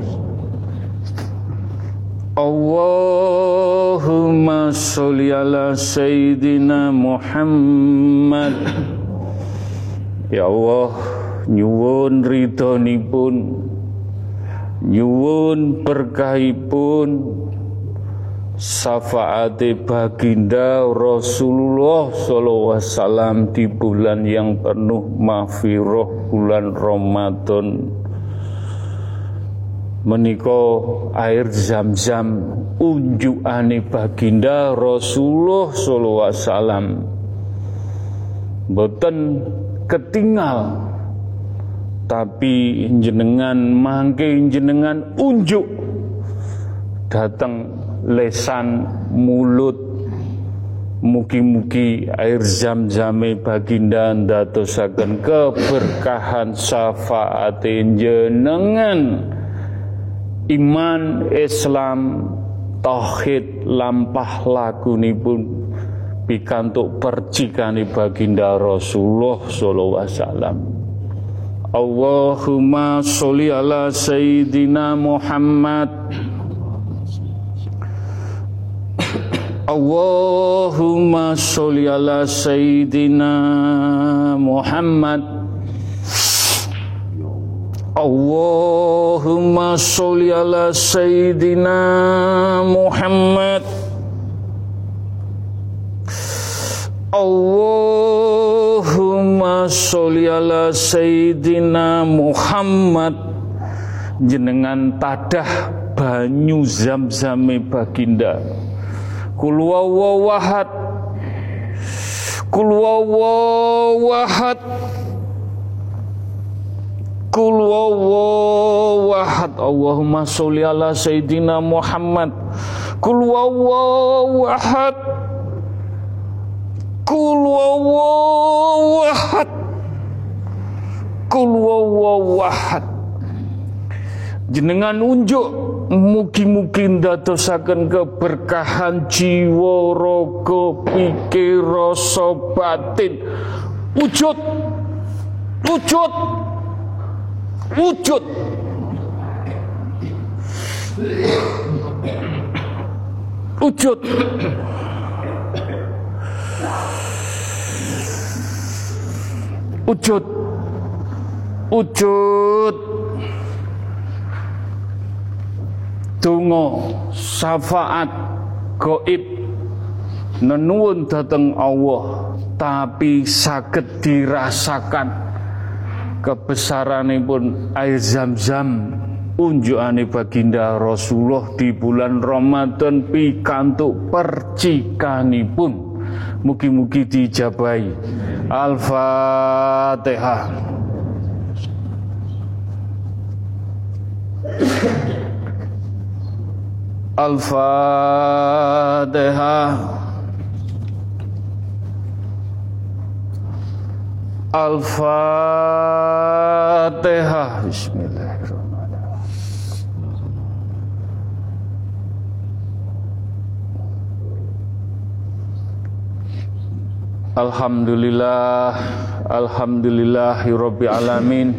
Speaker 1: Allahumma sholli ala sayyidina Muhammad. Ya Allah, nyuwun ridhonipun, nyuwun berkahipun, syafaate baginda Rasulullah sallallahu alaihi wasallam di bulan yang penuh maghfirah, bulan Ramadan menika air Zam-zam unjukane baginda Rasulullah sallallahu alaihi wasallam boten ketinggal, tapi jenengan mangke jenengan unjuk datang lesan mulut. Mugi-mugi air Zam-zame baginda ndadosaken keberkahan syafaate jenengan, iman Islam tauhid lampah lakunipun pikantuk percikane baginda Rasulullah sallallahu alaihi wasallam. Allahumma sholli ala sayyidina Muhammad. Allahumma sholli ala sayyidina Muhammad. Allahumma sholli ala sayyidina Muhammad. Allahumma sholli ala sayyidina Muhammad. Jenengan tadah banyu Zam-zame baginda. Kul huwallahu ahad. Kul huwallahu ahad. Kul huwallahu ahad. Allahumma sholli ala sayyidina Muhammad. Kul huwallahu ahad. Kul huwallahu ahad. Kul huwallahu ahad. Jenengan unjuk mugi-mugi ndadosaken keberkahan jiwa, raga, pikir, rasa, batin. Wujud. Wujud. Wujud. Wujud. Wujud. Wujud. Donga syafaat gaib nenuwun dhateng Allah, tapi saged dirasakan kebesaranipun air Zam-zam unjukane baginda Rasulullah di bulan Ramadan pikantuk percikanipun. Mugi-mugi dijabahi. Al-Fatihah. Al-Fatihah. Al-Fatihah. Bismillahirrahmanirrahim. Alhamdulillah. Alhamdulillahirabbil alamin.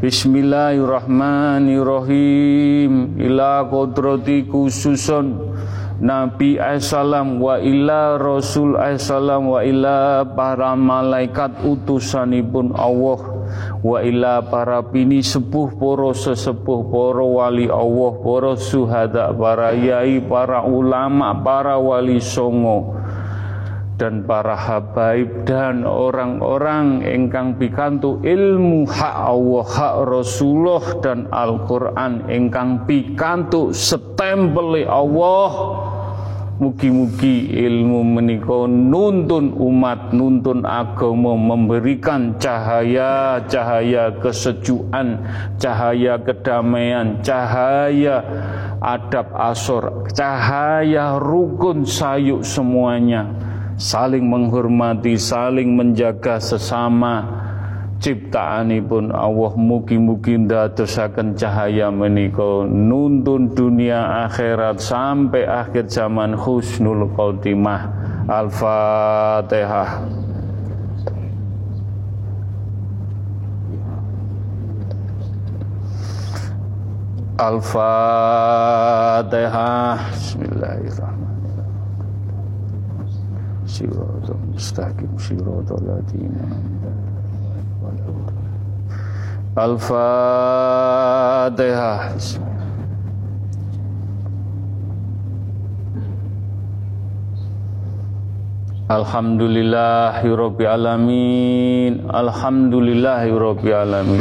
Speaker 1: Bismillahirrahmanirrahim. Ila qudrati khususun Nabi Aisalam wa ila Rasul Aisalam wa ila para malaikat utusanipun Allah wa ila para bini sepuh, para sesepuh, para wali Allah, para syuhada, para yai, para ulama, para wali songo, dan para habaib dan orang-orang ingkang pikantuk ilmu hak Allah, hak Rasulullah dan Al-Quran ingkang pikantuk stempel Allah Mugi-mugi ilmu menika nuntun umat, nuntun agama, memberikan cahaya-cahaya kesejukan, cahaya kedamaian, cahaya adab asor, cahaya rukun sayuk semuanya, saling menghormati, saling menjaga sesama ciptaanipun Allah. Mugi-mugi ndadosaken cahaya menika nuntun dunia akhirat sampai akhir zaman husnul khotimah. Al-Fatihah. Al-Fatihah. Bismillahirrahmanirrahim. Siratal mustaqim, siratal ladzina Al-Fatihah. Alhamdulillahirabbil alamin. Alhamdulillahirabbil alamin.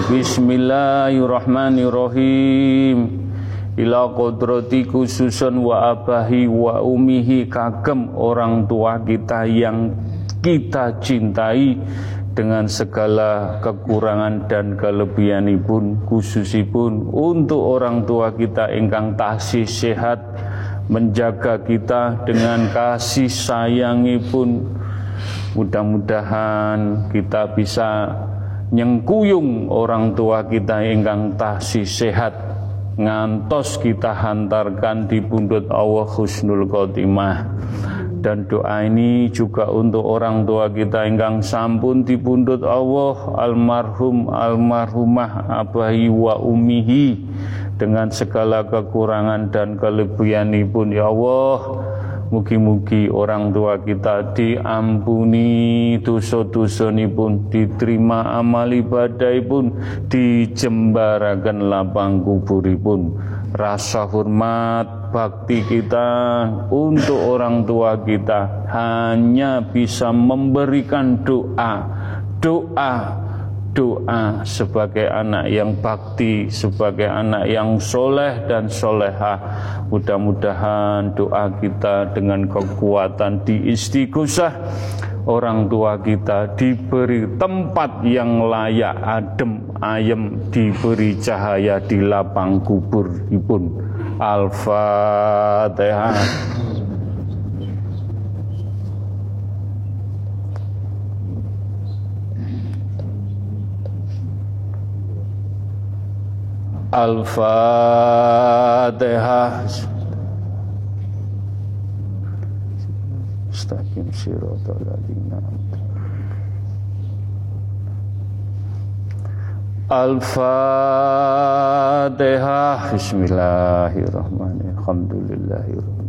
Speaker 1: Bismillahirrahmanirrahim. Ila qadrati khususun wa abahi wa umihi, kagem orang tua kita yang kita cintai dengan segala kekurangan dan kelebihanipun, khususipun untuk orang tua kita ingkang tasih sehat, menjaga kita dengan kasih sayangipun. Mudah-mudahan kita bisa nyengkuyung orang tua kita ingkang tasih sehat, ngantos kita hantarkan di pundhut Allah husnul khotimah. Dan doa ini juga untuk orang tua kita ingkang sampun dipundhut Allah, almarhum almarhumah abahi wa ummihi, dengan segala kekurangan dan kelebihanipun. Ya Allah, mugi-mugi orang tua kita diampuni dosa-dosanipun, diterima amal ibadahipun, dijembaraken lapang kuburipun. Rasa hormat bakti kita untuk orang tua kita hanya bisa memberikan doa sebagai anak yang bakti, sebagai anak yang soleh dan solehah. Mudah-mudahan doa kita dengan kekuatan diistighosah, orang tua kita diberi tempat yang layak, adem, ayem, diberi cahaya di lapang kuburipun. Al-Fatihah. Al-Fatihah. Mustaqim siratal ladzina Al-Fatihah. Bismillahirrahmanirrahim. Alhamdulillahirrahmanirrahim.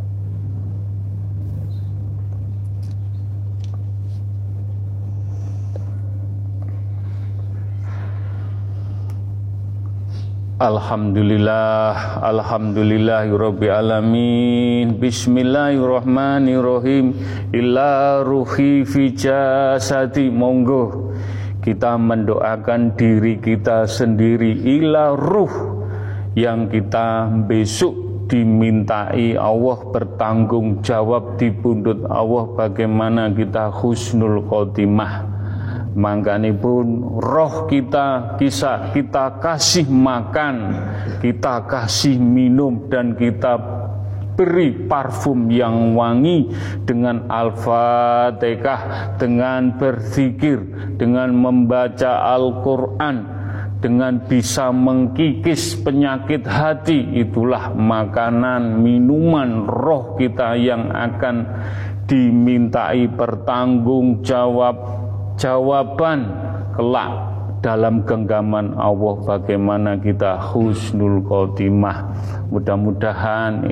Speaker 1: Alhamdulillah, alhamdulillahirabbil alamin. Bismillahirrahmanirrahim. Illa ruhi fi jasadi. Monggo kita mendoakan diri kita sendiri, ila ruh yang kita besok dimintai Allah bertanggung jawab di pundhut Allah bagaimana kita husnul khotimah. Mangkanipun roh kita kasih makan, kita kasih minum, dan kita beri parfum yang wangi dengan Al-Fatihah, dengan berzikir, dengan membaca Al-Quran, dengan bisa mengkikis penyakit hati. Itulah makanan, minuman roh kita yang akan dimintai jawaban kelak dalam genggaman Allah bagaimana kita husnul khotimah. Mudah-mudahan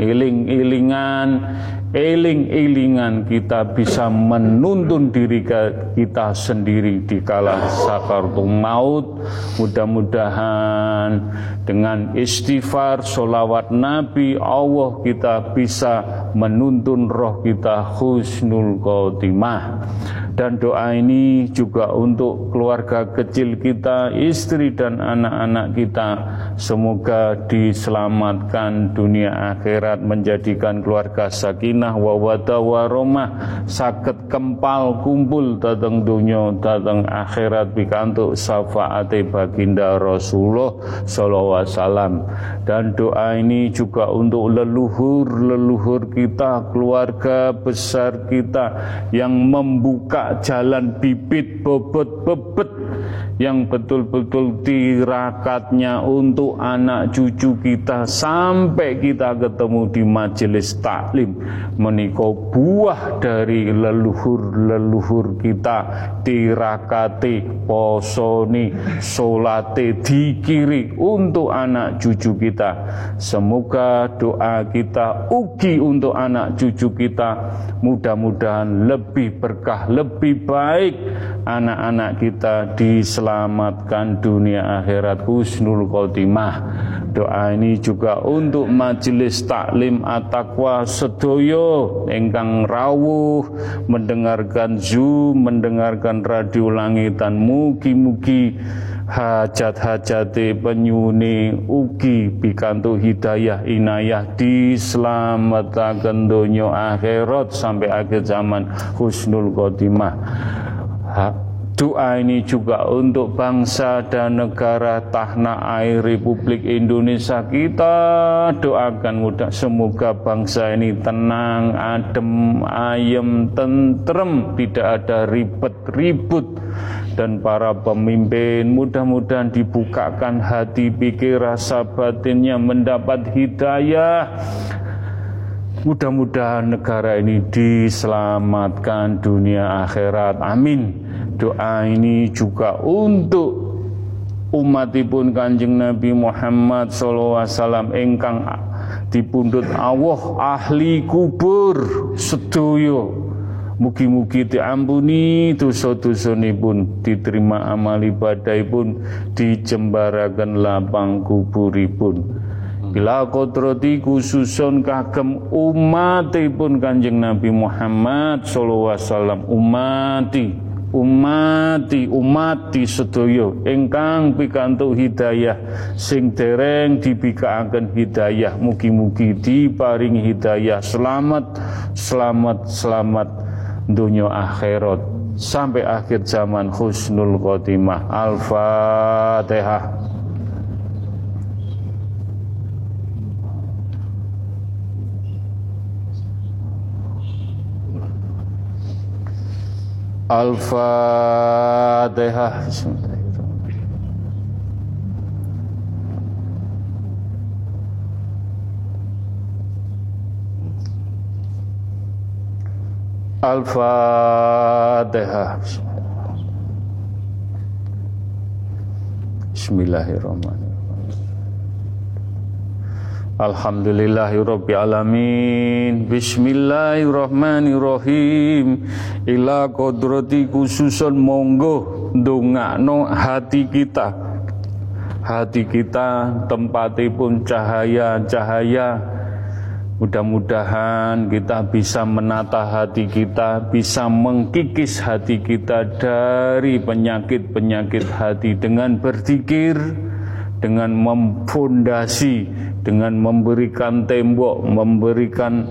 Speaker 1: eling-elingan kita bisa menuntun diri kita sendiri di kala sakaratul maut. Mudah-mudahan dengan istighfar, sholawat Nabi Allah kita bisa menuntun roh kita husnul khotimah. Dan doa ini juga untuk keluarga kecil kita, istri dan anak-anak kita. Semoga diselamatkan dunia akhirat, menjadikan keluarga sakinah wawadah warahmah, saged kempal kumpul dateng dunia dateng akhirat pikantuk syafaate baginda Rasulullah sallallahu alaihi wasallam. Dan doa ini juga untuk leluhur kita, keluarga besar kita yang membuka jalan bibit bobot bebet yang betul-betul tirakatnya untuk anak cucu kita sampai kita ketemu di majelis taklim, menika buah dari leluhur kita, tirakate, posone, solate, dikiri untuk anak cucu kita. Semoga doa kita ugi untuk anak cucu kita, mudah-mudahan lebih berkah, lebih baik, anak-anak kita diselamatkan dunia akhirat, husnul khotimah. Doa ini juga untuk majelis taklim at-taqwa sedoyo ingkang rawuh mendengarkan Zoom, mendengarkan radio langitan, mugi-mugi hajat-hajate penyuni ugi pikantuk hidayah inayah, dislametaken donya akhirat sampai akhir zaman, husnul khotimah. Doa ini juga untuk bangsa dan negara tanah air Republik Indonesia. Kita doakan semoga bangsa ini tenang, adem, ayem, tentrem, tidak ada ribet-ribut. Dan para pemimpin mudah-mudahan dibukakan hati, pikir, rasa batinnya, mendapat hidayah. Mudah-mudahan negara ini diselamatkan dunia akhirat, amin. Doa ini juga untuk umatipun Kanjeng Nabi Muhammad SAW ingkang dipundhut Allah ahli kubur sedoyo. Mugi-mugi diampuni dosa-dosanipun, diterima amal ibadahipun, dijembaraken lapang kuburipun. Bila kodrati khususun kagem umatipun Kanjeng Nabi Muhammad SAW, umati sedaya ingkang pikantuk hidayah, sing dereng dibikaaken hidayah, mugi-mugi diparingi hidayah, selamat dunya akhirat sampai akhir zaman, husnul khotimah. Al-Fatihah. Al-Fatihah. Al-Fatihah. Bismillahirrahmanirrahim. Alhamdulillahirabbil alamin. Bismillahirrahmanirrahim. Ila kodrati khususun monggo ndongakno hati kita. Hati kita tempatipun cahaya-cahaya. Mudah-mudahan kita bisa menata hati kita, bisa mengkikis hati kita dari penyakit-penyakit hati dengan berzikir, dengan memfondasi, dengan memberikan tembok, memberikan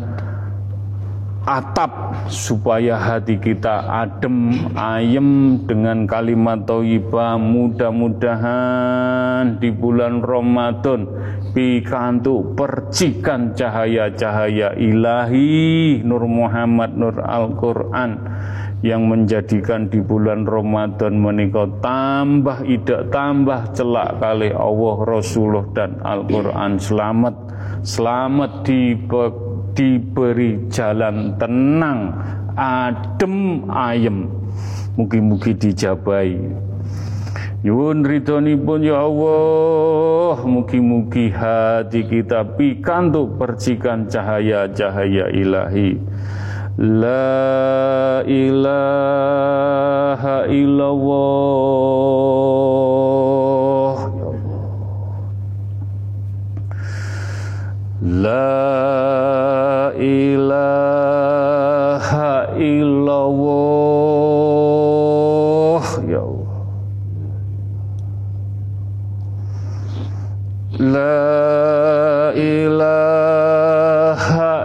Speaker 1: atap supaya hati kita adem, ayem dengan kalimat thayyibah. Mudah-mudahan di bulan Ramadan pikantuk percikan cahaya-cahaya ilahi, Nur Muhammad, Nur Al-Quran, yang menjadikan di bulan Ramadan menika tambah idak, tambah celak kali Allah, Rasulullah dan Al-Quran. Selamat diberi jalan tenang, adem, ayem. Mugi-mugi dijabahi. Nyuwun ridhonipun ya Allah, mugi-mugi hati kita pikantuk percikan cahaya-cahaya ilahi. La ilaha illallah, ya Allah. La ilaha illallah.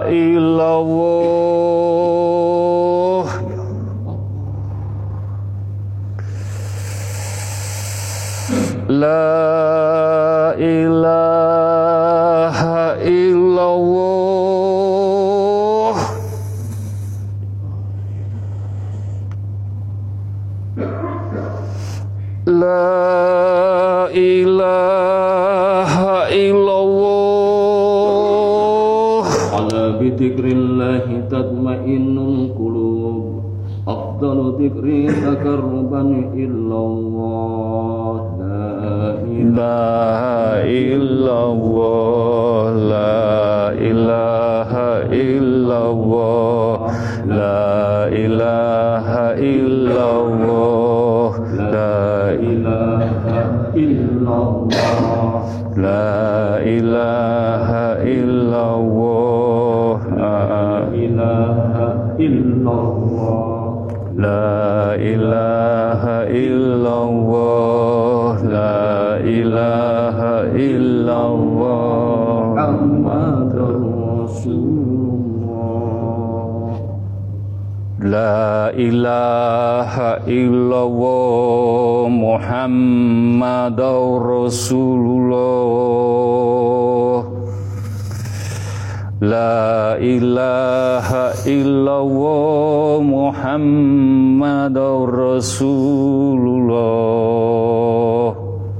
Speaker 1: illallah. La ilaha illallah. La ilaha illallah.
Speaker 2: Ala bidzikrillahi tatmainnul qulub. Afdalu dzikri takarruban illallah.
Speaker 1: La illallah, la ilaha illallah, la ilaha illallah, la ilaha illallah, la ilaha illallah, la ilaha illallah, la ilaha illallah, la ilaha illallah,
Speaker 2: Muhammadur Rasulullah.
Speaker 1: La ilaha illallah, Muhammadur Rasulullah. La ilaha illallah, Muhammadur Rasulullah.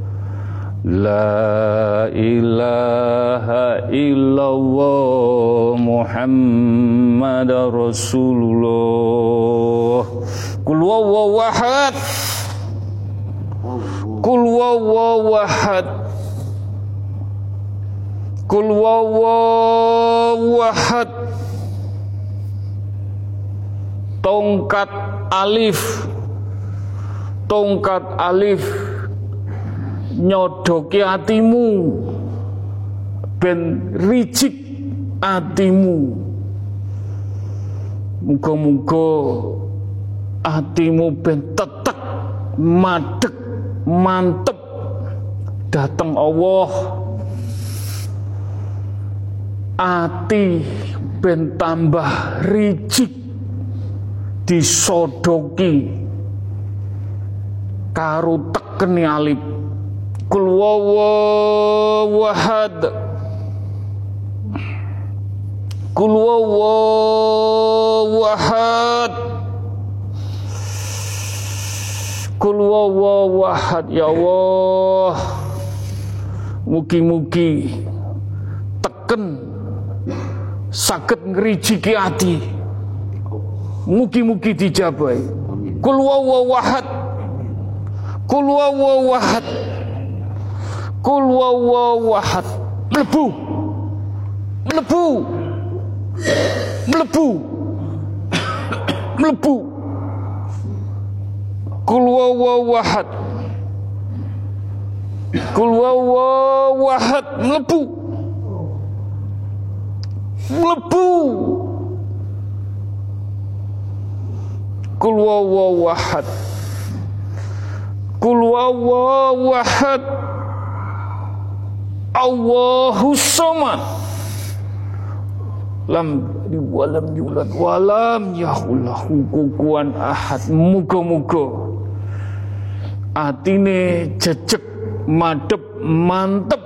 Speaker 1: La ilaha illallah, Muhammadur Rasulullah. Qul huwallahu ahad. Qul huwallahu ahad. Qul huwallahu ahad. Tongkat alif nyodoki atimu ben ricik atimu. Muga-muga atimu ben tetek madeg mantep dateng Allah. Ati ben tambah ricik disodoki karo tekeni alif. Qul huwallahu ahad. Qul huwallahu ahad. Qul huwallahu ahad. Ya Allah, mugi-mugi teken saged ngrijiki ati. Mugi-mugi dijabahi. Qul huwallahu ahad. Qul huwallahu ahad. Qul huwallahu ahad. Mlebu. Mlebu. Mlebu. Mlebu. Qul huwallahu ahad. Qul huwallahu ahad. Mlebu. Mlebu. Qul huwallahu ahad. Qul huwallahu ahad. Allahus samad. Lam yalid walam yulad walam yakul lahu kufuwan ahad. Muga-muga atine jejeg madhep mantep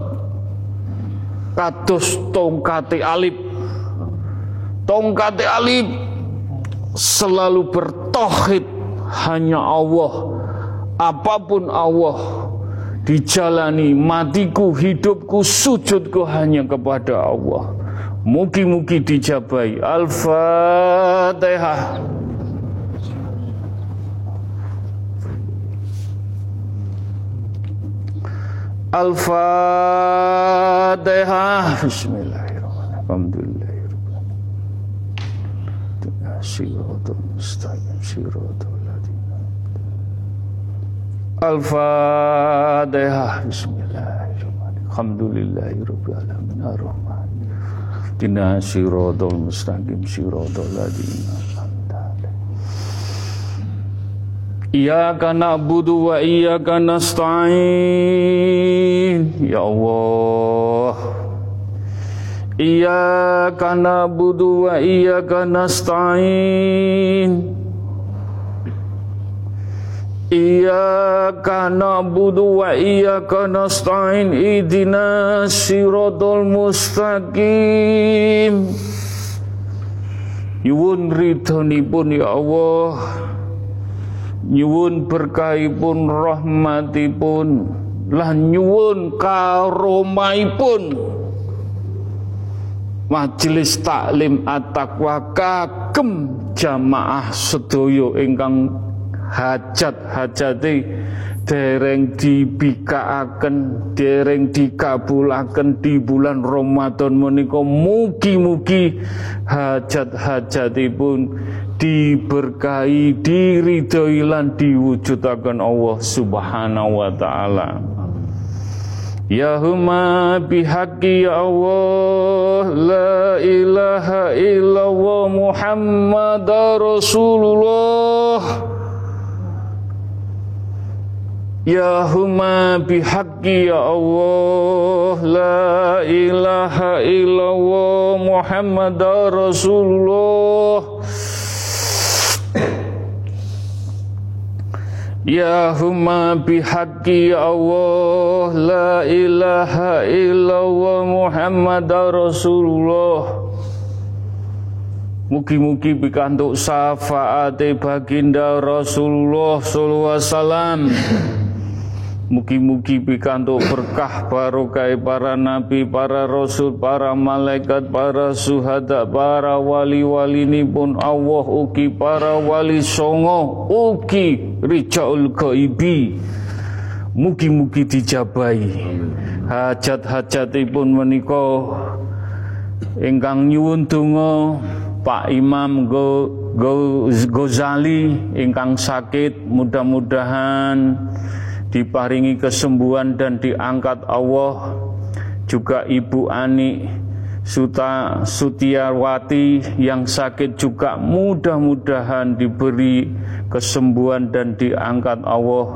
Speaker 1: kados tongkate alif. Tongkate alif selalu bertauhid hanya Allah. Apapun Allah, dijalani matiku, hidupku, sujudku hanya kepada Allah. Mugi-mugi dijabahi. Al-Fatihah. Al-Fatihah. Bismillahirrahmanirrahim. Alhamdulillahirrahmanirrahim. Shiratul mustaqim. Shiratul ladina. Al-Fatihah. Bismillahirrahmanirrahim. Alhamdulillahirabbil alamin. Ar-Rahman. Dina shiratul mustaqim. Shiratul ladina. Iyyaka na'budu wa iyyaka nasta'in. Ya Allah, Iyyaka na'budu wa iyyaka nasta'in. Iyyaka na'budu wa iyyaka nasta'in. Ihdinas siratal mustaqim. Nyuwun ridhonipun ya Allah, nyuwun berkahipun, rahmatipun, lan nyuwun karomahipun Majelis Taklim At-Taqwa kagem jamaah sedaya ingkang hajat-hajate dereng dibikaaken, dereng dikabulaken di bulan Ramadan menika, mugi-mugi hajat-hajatipun diberkahi, diridhoi lan diwujudaken Allah Subhanahu wa taala. Ya huma bihaqqi ya Allah, la ilaha illallah Muhammadar Rasulullah. Ya huma bihaqqi ya Allah, la ilaha illallah Muhammadar Rasulullah. Ya huma bihaqqi ya Allah, la ilaha illallah Muhammadar Rasulullah. Mugi-mugi pikantuk syafaate baginda Rasulullah sallallahu alaihi wasallam. Mugi-mugi pikantuk berkah barokah para nabi, para rasul, para malaikat, para syuhada, para wali-walinipun Allah, ugi para wali songo, ugi rijaul ghaibi. Mugi-mugi dijabahi hajat-hajatipun menika. Ingkang nyuwun donga Pak Imam Ghazali ingkang sakit, mudah-mudahan diparingi kesembuhan dan diangkat Allah. Juga Ibu Ani Sutiawati yang sakit juga mudah-mudahan diberi kesembuhan dan diangkat Allah.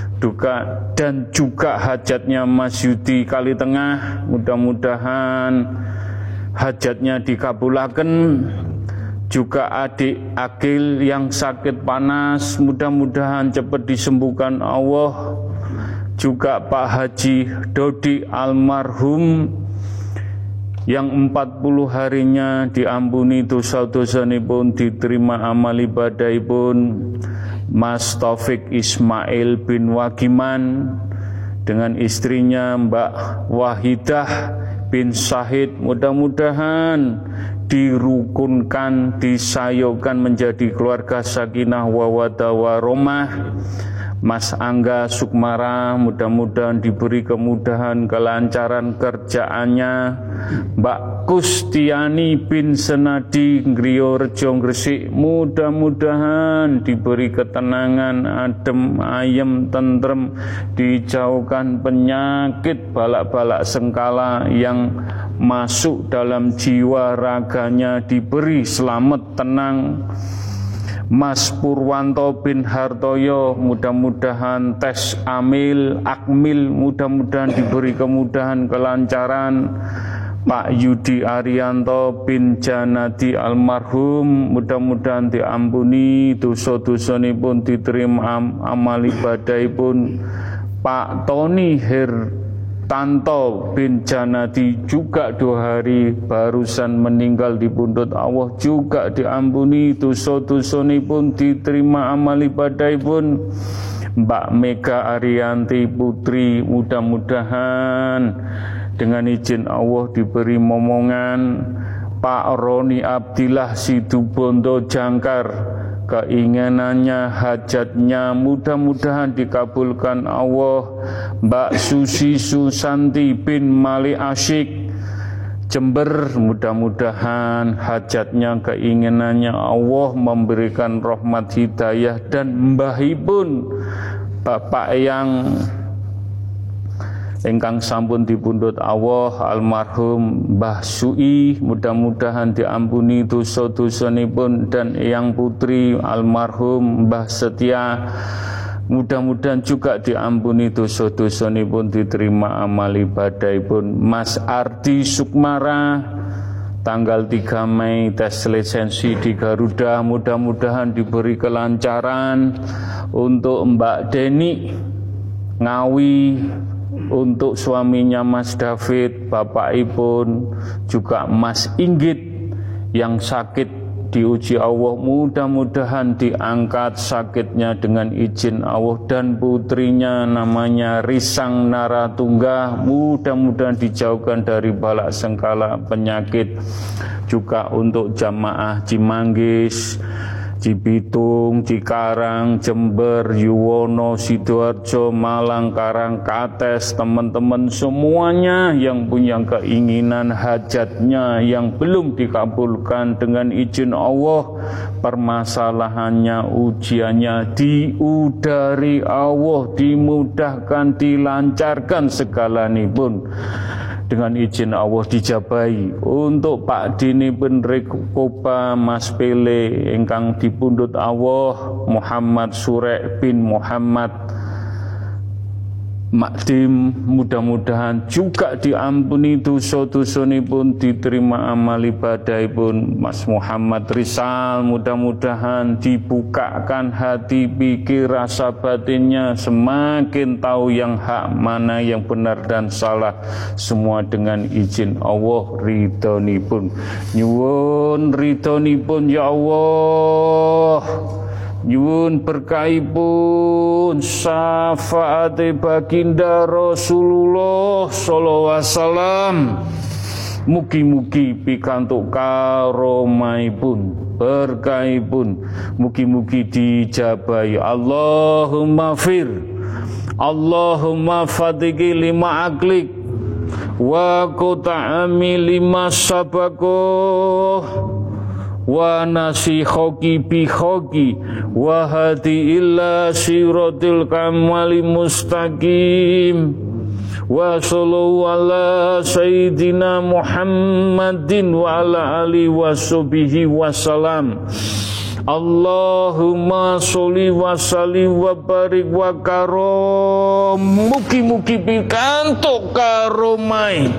Speaker 1: Dan juga hajatnya Mas Yudi Kalitengah, mudah-mudahan hajatnya dikabulaken. Juga adik Agil yang sakit panas, mudah-mudahan cepat disembuhkan Allah. Juga Pak Haji Dodi almarhum yang 40 harinya diampuni dosa-dosanipun, diterima amal ibadahipun. Mas Taufik Ismail bin Wagiman dengan istrinya Mbak Wahidah bin Syahid, mudah-mudahan dirukunkan, disayokan menjadi keluarga sakinah wawadah warahmah. Mas Angga Sukmara mudah-mudahan diberi kemudahan, kelancaran kerjaannya. Mbak Kustiani bin Senadi Ngriyo Rejo Gresik, mudah-mudahan diberi ketenangan, adem, ayem, tentrem, dijauhkan penyakit balak-balak sengkala yang masuk dalam jiwa raganya, diberi selamat, tenang. Mas Purwanto bin Hartoyo, mudah-mudahan tes akmil, mudah-mudahan diberi kemudahan, kelancaran. Pak Yudi Arianto bin Janadi almarhum, mudah-mudahan diampuni dosa-dosanipun, diterima amal ibadahipun. Pak Tony Tanto bin Janadi juga 2 hari barusan meninggal di pundut Allah, juga diampuni dosa-dosanipun, diterima amal ibadahipun. Mbak Mega Arianti Putri, mudah-mudahan dengan izin Allah diberi momongan. Pak Roni Abdillah Sidubondo Jangkar, keinginannya, hajatnya mudah-mudahan dikabulkan Allah. Mbak Susi Susanti bin Mali Asyik Jember, mudah-mudahan hajatnya, keinginannya Allah memberikan rahmat hidayah. Dan mbahipun Bapak yang ingkang sampun dipundhut Allah, almarhum Mbah Sui, mudah-mudahan diampuni dosa-dosanipun. Dan eyang putri almarhum Mbah Setia, mudah-mudahan juga diampuni dosa-dosanipun, diterima amal ibadahipun. Mas Ardi Sukmara, tanggal 3 Mei tes lisensi di Garuda, mudah-mudahan diberi kelancaran. Untuk Mbak Deni Ngawi, untuk suaminya Mas David, Bapak Ipun, juga Mas Inggit yang sakit diuji Allah, mudah-mudahan diangkat sakitnya dengan izin Allah, dan putrinya namanya Risang Naratunggah, mudah-mudahan dijauhkan dari balak sengkala penyakit. Juga untuk jamaah Cimanggis, Cibitung, Cikarang, Jember, Yuwono, Sidoarjo, Malang, Karangkates, teman-teman semuanya yang punya keinginan hajatnya yang belum dikabulkan dengan izin Allah, permasalahannya, ujiannya diudari Allah, dimudahkan, dilancarkan segalanipun dengan izin Allah dijabahi. Untuk Pak Dini Penrekoba, Mas Pele ingkang dipundhut Allah, Muhammad Surek bin Muhammad Makdim, mudah-mudahan juga diampuni dosa-dosanipun, diterima amal ibadahipun. Mas Muhammad Rizal, mudah-mudahan dibukakan hati, pikir, rasa batinnya, semakin tahu yang hak, mana yang benar dan salah, semua dengan izin Allah, ridhonipun. Nyuwun ridhonipun ya Allah, nyuwun berkahipun, syafaate baginda Rasulullah sallallahu alaihi wasallam, mugi-mugi pikantuk karomahipun, berkahipun, mugi-mugi dijabahi. Allahumma fir, Allahumma fatiki lima aklik, wa quta'ami lima sabakoh, wa nasihoki bihoki, wa hadi illa siratil kamali mustaqim, wa sallallahu ala sayyidina Muhammadin wa ala alihi wa sahbihi wasalam. Allahumma sholli wa sallim wa barik wa karom, mugi-mugi pikantuk karomai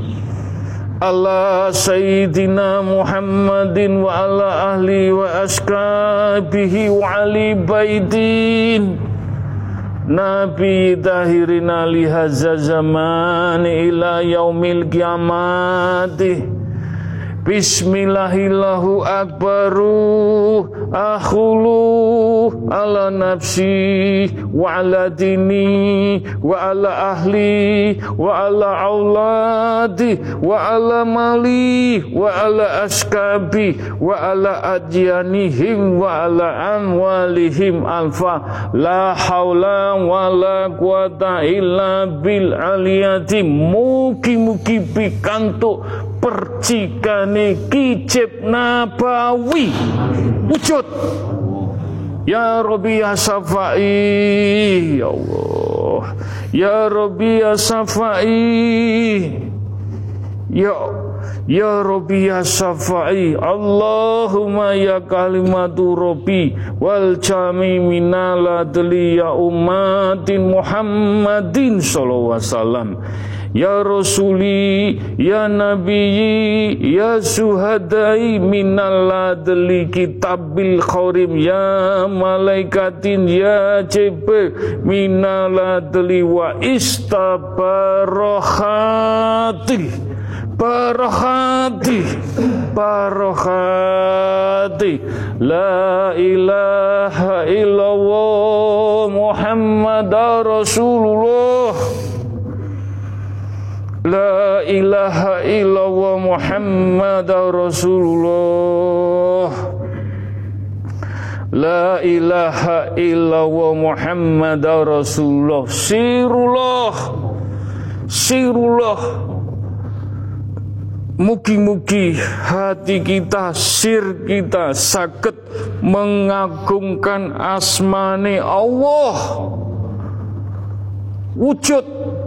Speaker 1: ala sayyidina Muhammadin wa ala ahli wa ashabihi wa ali baitin nabi tahirina lihaza zaman ila yaumil kiamati. Bismillahillahu akbaru akhulu ala nafsi wa ala dini wa ala ahli wa ala auladi wa ala mali wa ala askabi wa ala adyanihim wa ala amwalihim alfa la hawla wa la quwata illa bil aliyati. Mugi-mugi pikantuk percikane kicip nabawi wujud ya Rabbi ya Safai, ya Allah ya Rabbi ya Safai, ya Rabbi ya Safai. Allahumma ya kalimatu Rabbi wal jami minal adli ya ummatin Muhammadin sallallahu alaihi wasallam, ya Rasuli, ya Nabi, ya Suhadai minal adli kitabil khorim, ya malaikatin, ya Jibril minal adli wa istabarohati, barohati, barohati, la ilaha illallah Muhammad Rasulullah, la ilaha illallah Muhammad Rasulullah, la ilaha illallah Muhammad Rasulullah. Sirullah, sirullah. Mugi-mugi hati kita, sir kita saged mengagungkan asmane Allah. Wujud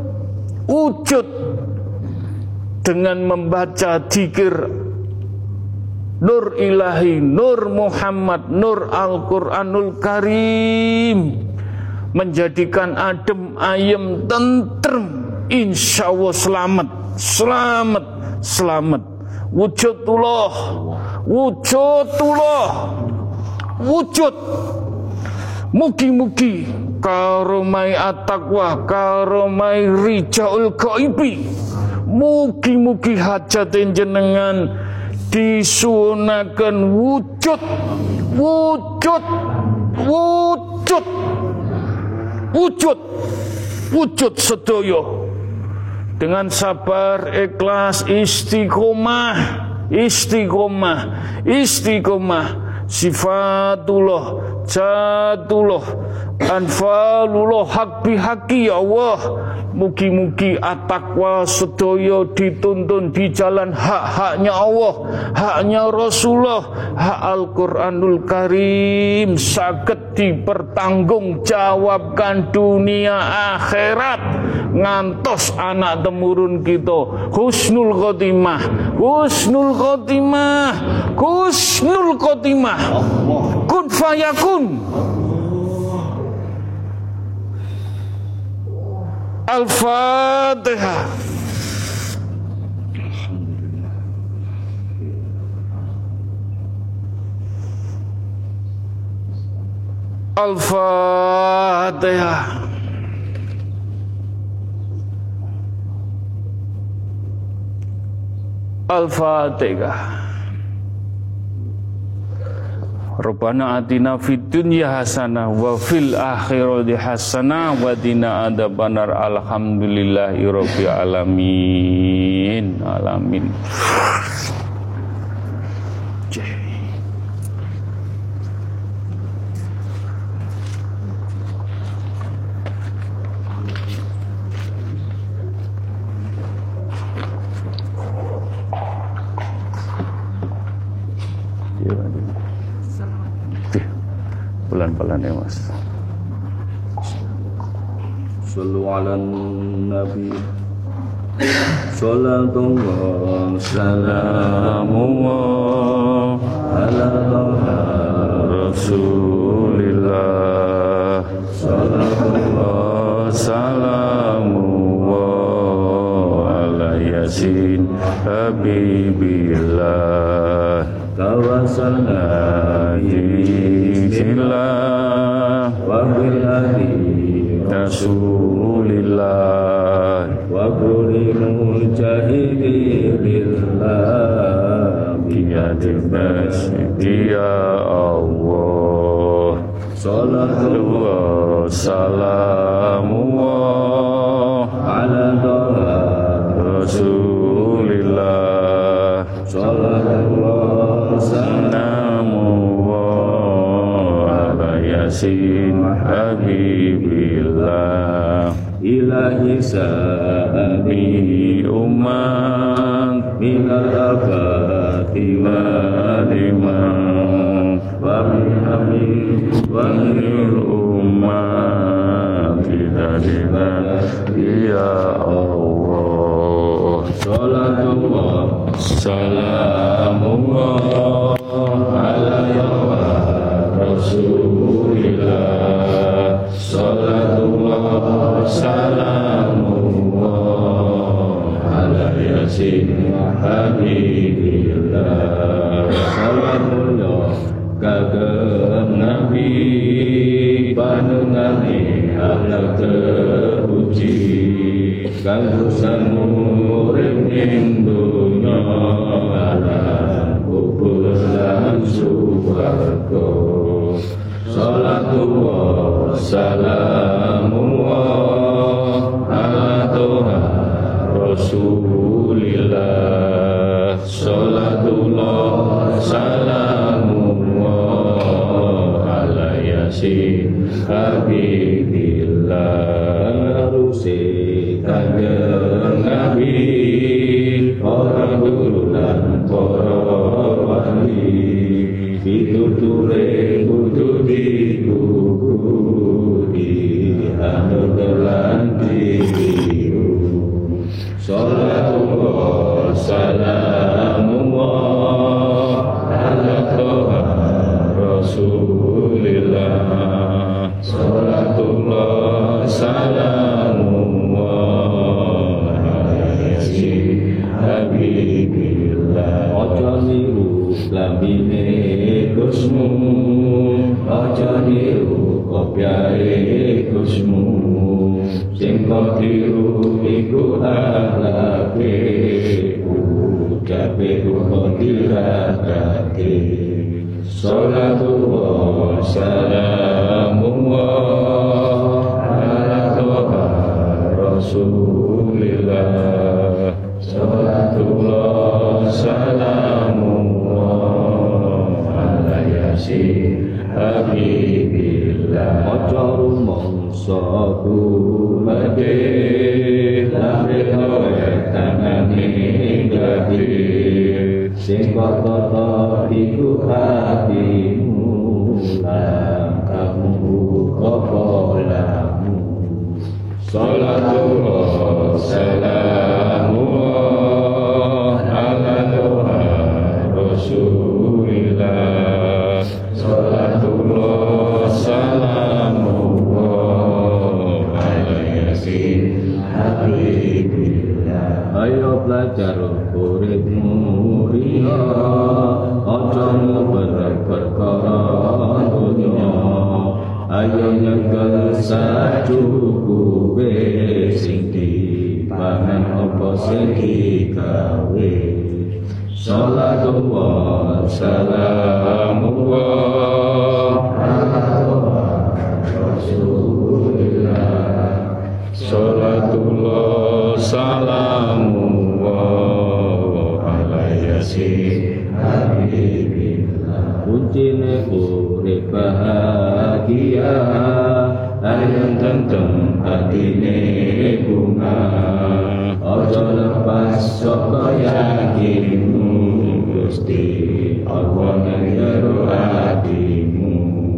Speaker 1: dengan membaca dzikir Nur Ilahi, Nur Muhammad, Nur Al-Quranul Karim, menjadikan adem, ayem, tentrem, insya Allah selamat, selamat, selamat. wujudullah, wujudullah, wujud. Mugi-mugi karomai at-taqwa, karomai rijaul ghaibi, mugi-mugi hajatin jenengan disunaken wujud, wujud, wujud, wujud, wujud sedoyo dengan sabar, ikhlas, istiqomah, istiqomah, istiqomah, sifatullah, jatullah, anfalullah, hak bihaki ya Allah. Mugi-mugi at-taqwa sedoyo dituntun di jalan hak-haknya Allah, haknya Rasulullah, hak Al-Quranul Karim saged dipertanggungjawabkan dunia akhirat ngantos anak temurun kita husnul khotimah, husnul khotimah, husnul khotimah, kun fayakun. Al-Fatihah. Al-Fatihah. Al-Fatihah. Rabbana atina fid dunya hasanah wa fil akhirati hasanah wa qina adzabannar. Alhamdulillahi rabbil alamin. Alamin. Pelan-pelan ya Mas.
Speaker 2: Sallu ala nabi, salatullah salamullah ala rasulillah, salatullah salamullah ala yasin habibillah, tawassalna billah wa bilhadi rasulillah wa kulli mujahidi billah biyadil masjid ya Allah. Salatullah salamullah ala rasulillah, salatullah salamullah ala yasin habibillah, ilahi sa'abi umat minal abadi waliman wa minhamid wa minil umat bidadina ya Allah. Salatullah salamullah ala rasulillah, salatullah salamullah ala yasin habibillah, salamullah kagem nabi panengane akhlak terpuji kanggo sanurip ing donya lan kubur lan swarga. Salatullah salamullah ala rasulillah, salatullah salamullah ala yasin habibillah, rusi kanjeng nabi para guru lan para wali pituture kudu dikukuti anu lan diru. Salatullah salamullah ala rasulillah, salatullah salamullah. Habibillah. atine Gusmu aja niru kopyae Gusmu sing kok tiru iku akhlake ucape kok diragake Salatullah salamullah ala toha Rasulillah Salatullah salamullah ala yasin habibillah Ojo rumongso kumade lambe tangane gade sing kota iku hatimu langkahmu kepolamu Salatullah salamullah ala toha Rasulillah Salatullah salamullah ala yasin habibillah Ayo belajar uripmu riya aja perkara dunya ayo nyekel sacukupe sing dipangan apa sing digawe Salatullah salamullah ala Rasulillah Salatullah salamullah ala yasin habibillah kuncine urip bahagia ayang tentrem atine bunga ojo lepas saka yakinmu Gusti Allah nang hatimu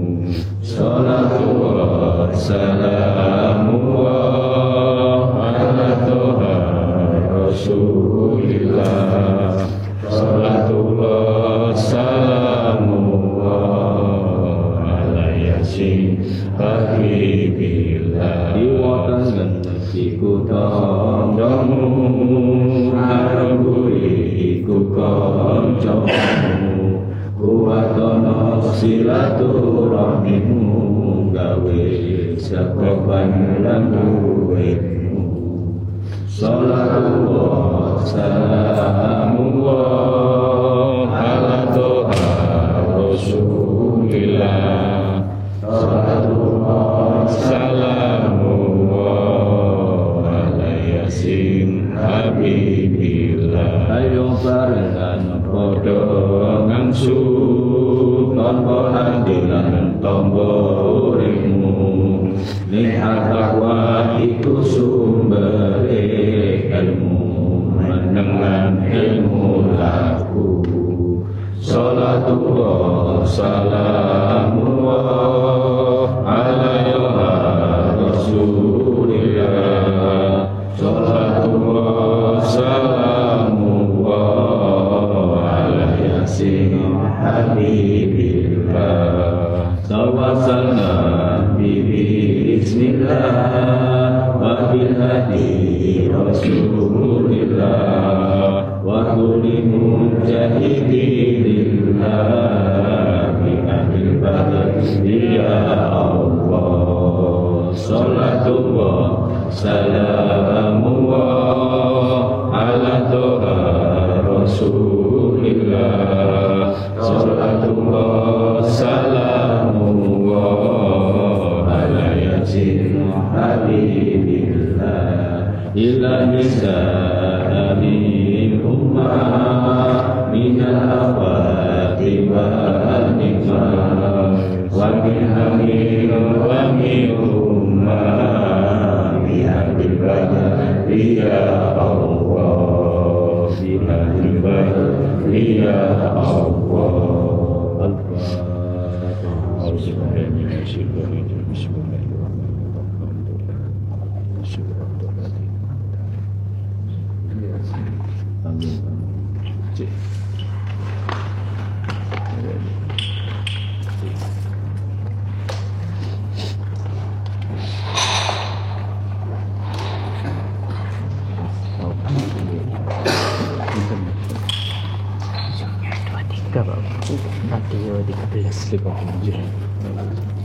Speaker 2: Salatullah salamullah ala toha Rasulillah Salatullah salamullah ala yasin habibillah Iwatan iku tandhamu aremburi iku kancamu kuwatono silaturahmimu gawe sekapan lan duwitmu Salatullah salamullah ala toha Rasulillah Salatullah salamullah ala yasin habibillah Ayo barengan padha ngangsu tanpa andilan tombo uripmu niat takwa iku sumbere ilmu menengan ilmu laku Salatullah salamullah ala Rasulillah Salatullah salamullah ala yasin habibillah Tawassalna bismillah wa bil hadi Rasulillah wa kulli mujahidillah bi ahlil badr ya Allah Salatullah salamullah ala toha Rasulillah Salatullah salamullah ala yasin habibillah ila nisa'il ummah minal afati wa nikmah wa min hamil wa min ummah bihabil badr ya Allah bihabil badr ya Allah
Speaker 1: Gak apa-apa.
Speaker 4: Radio 1357.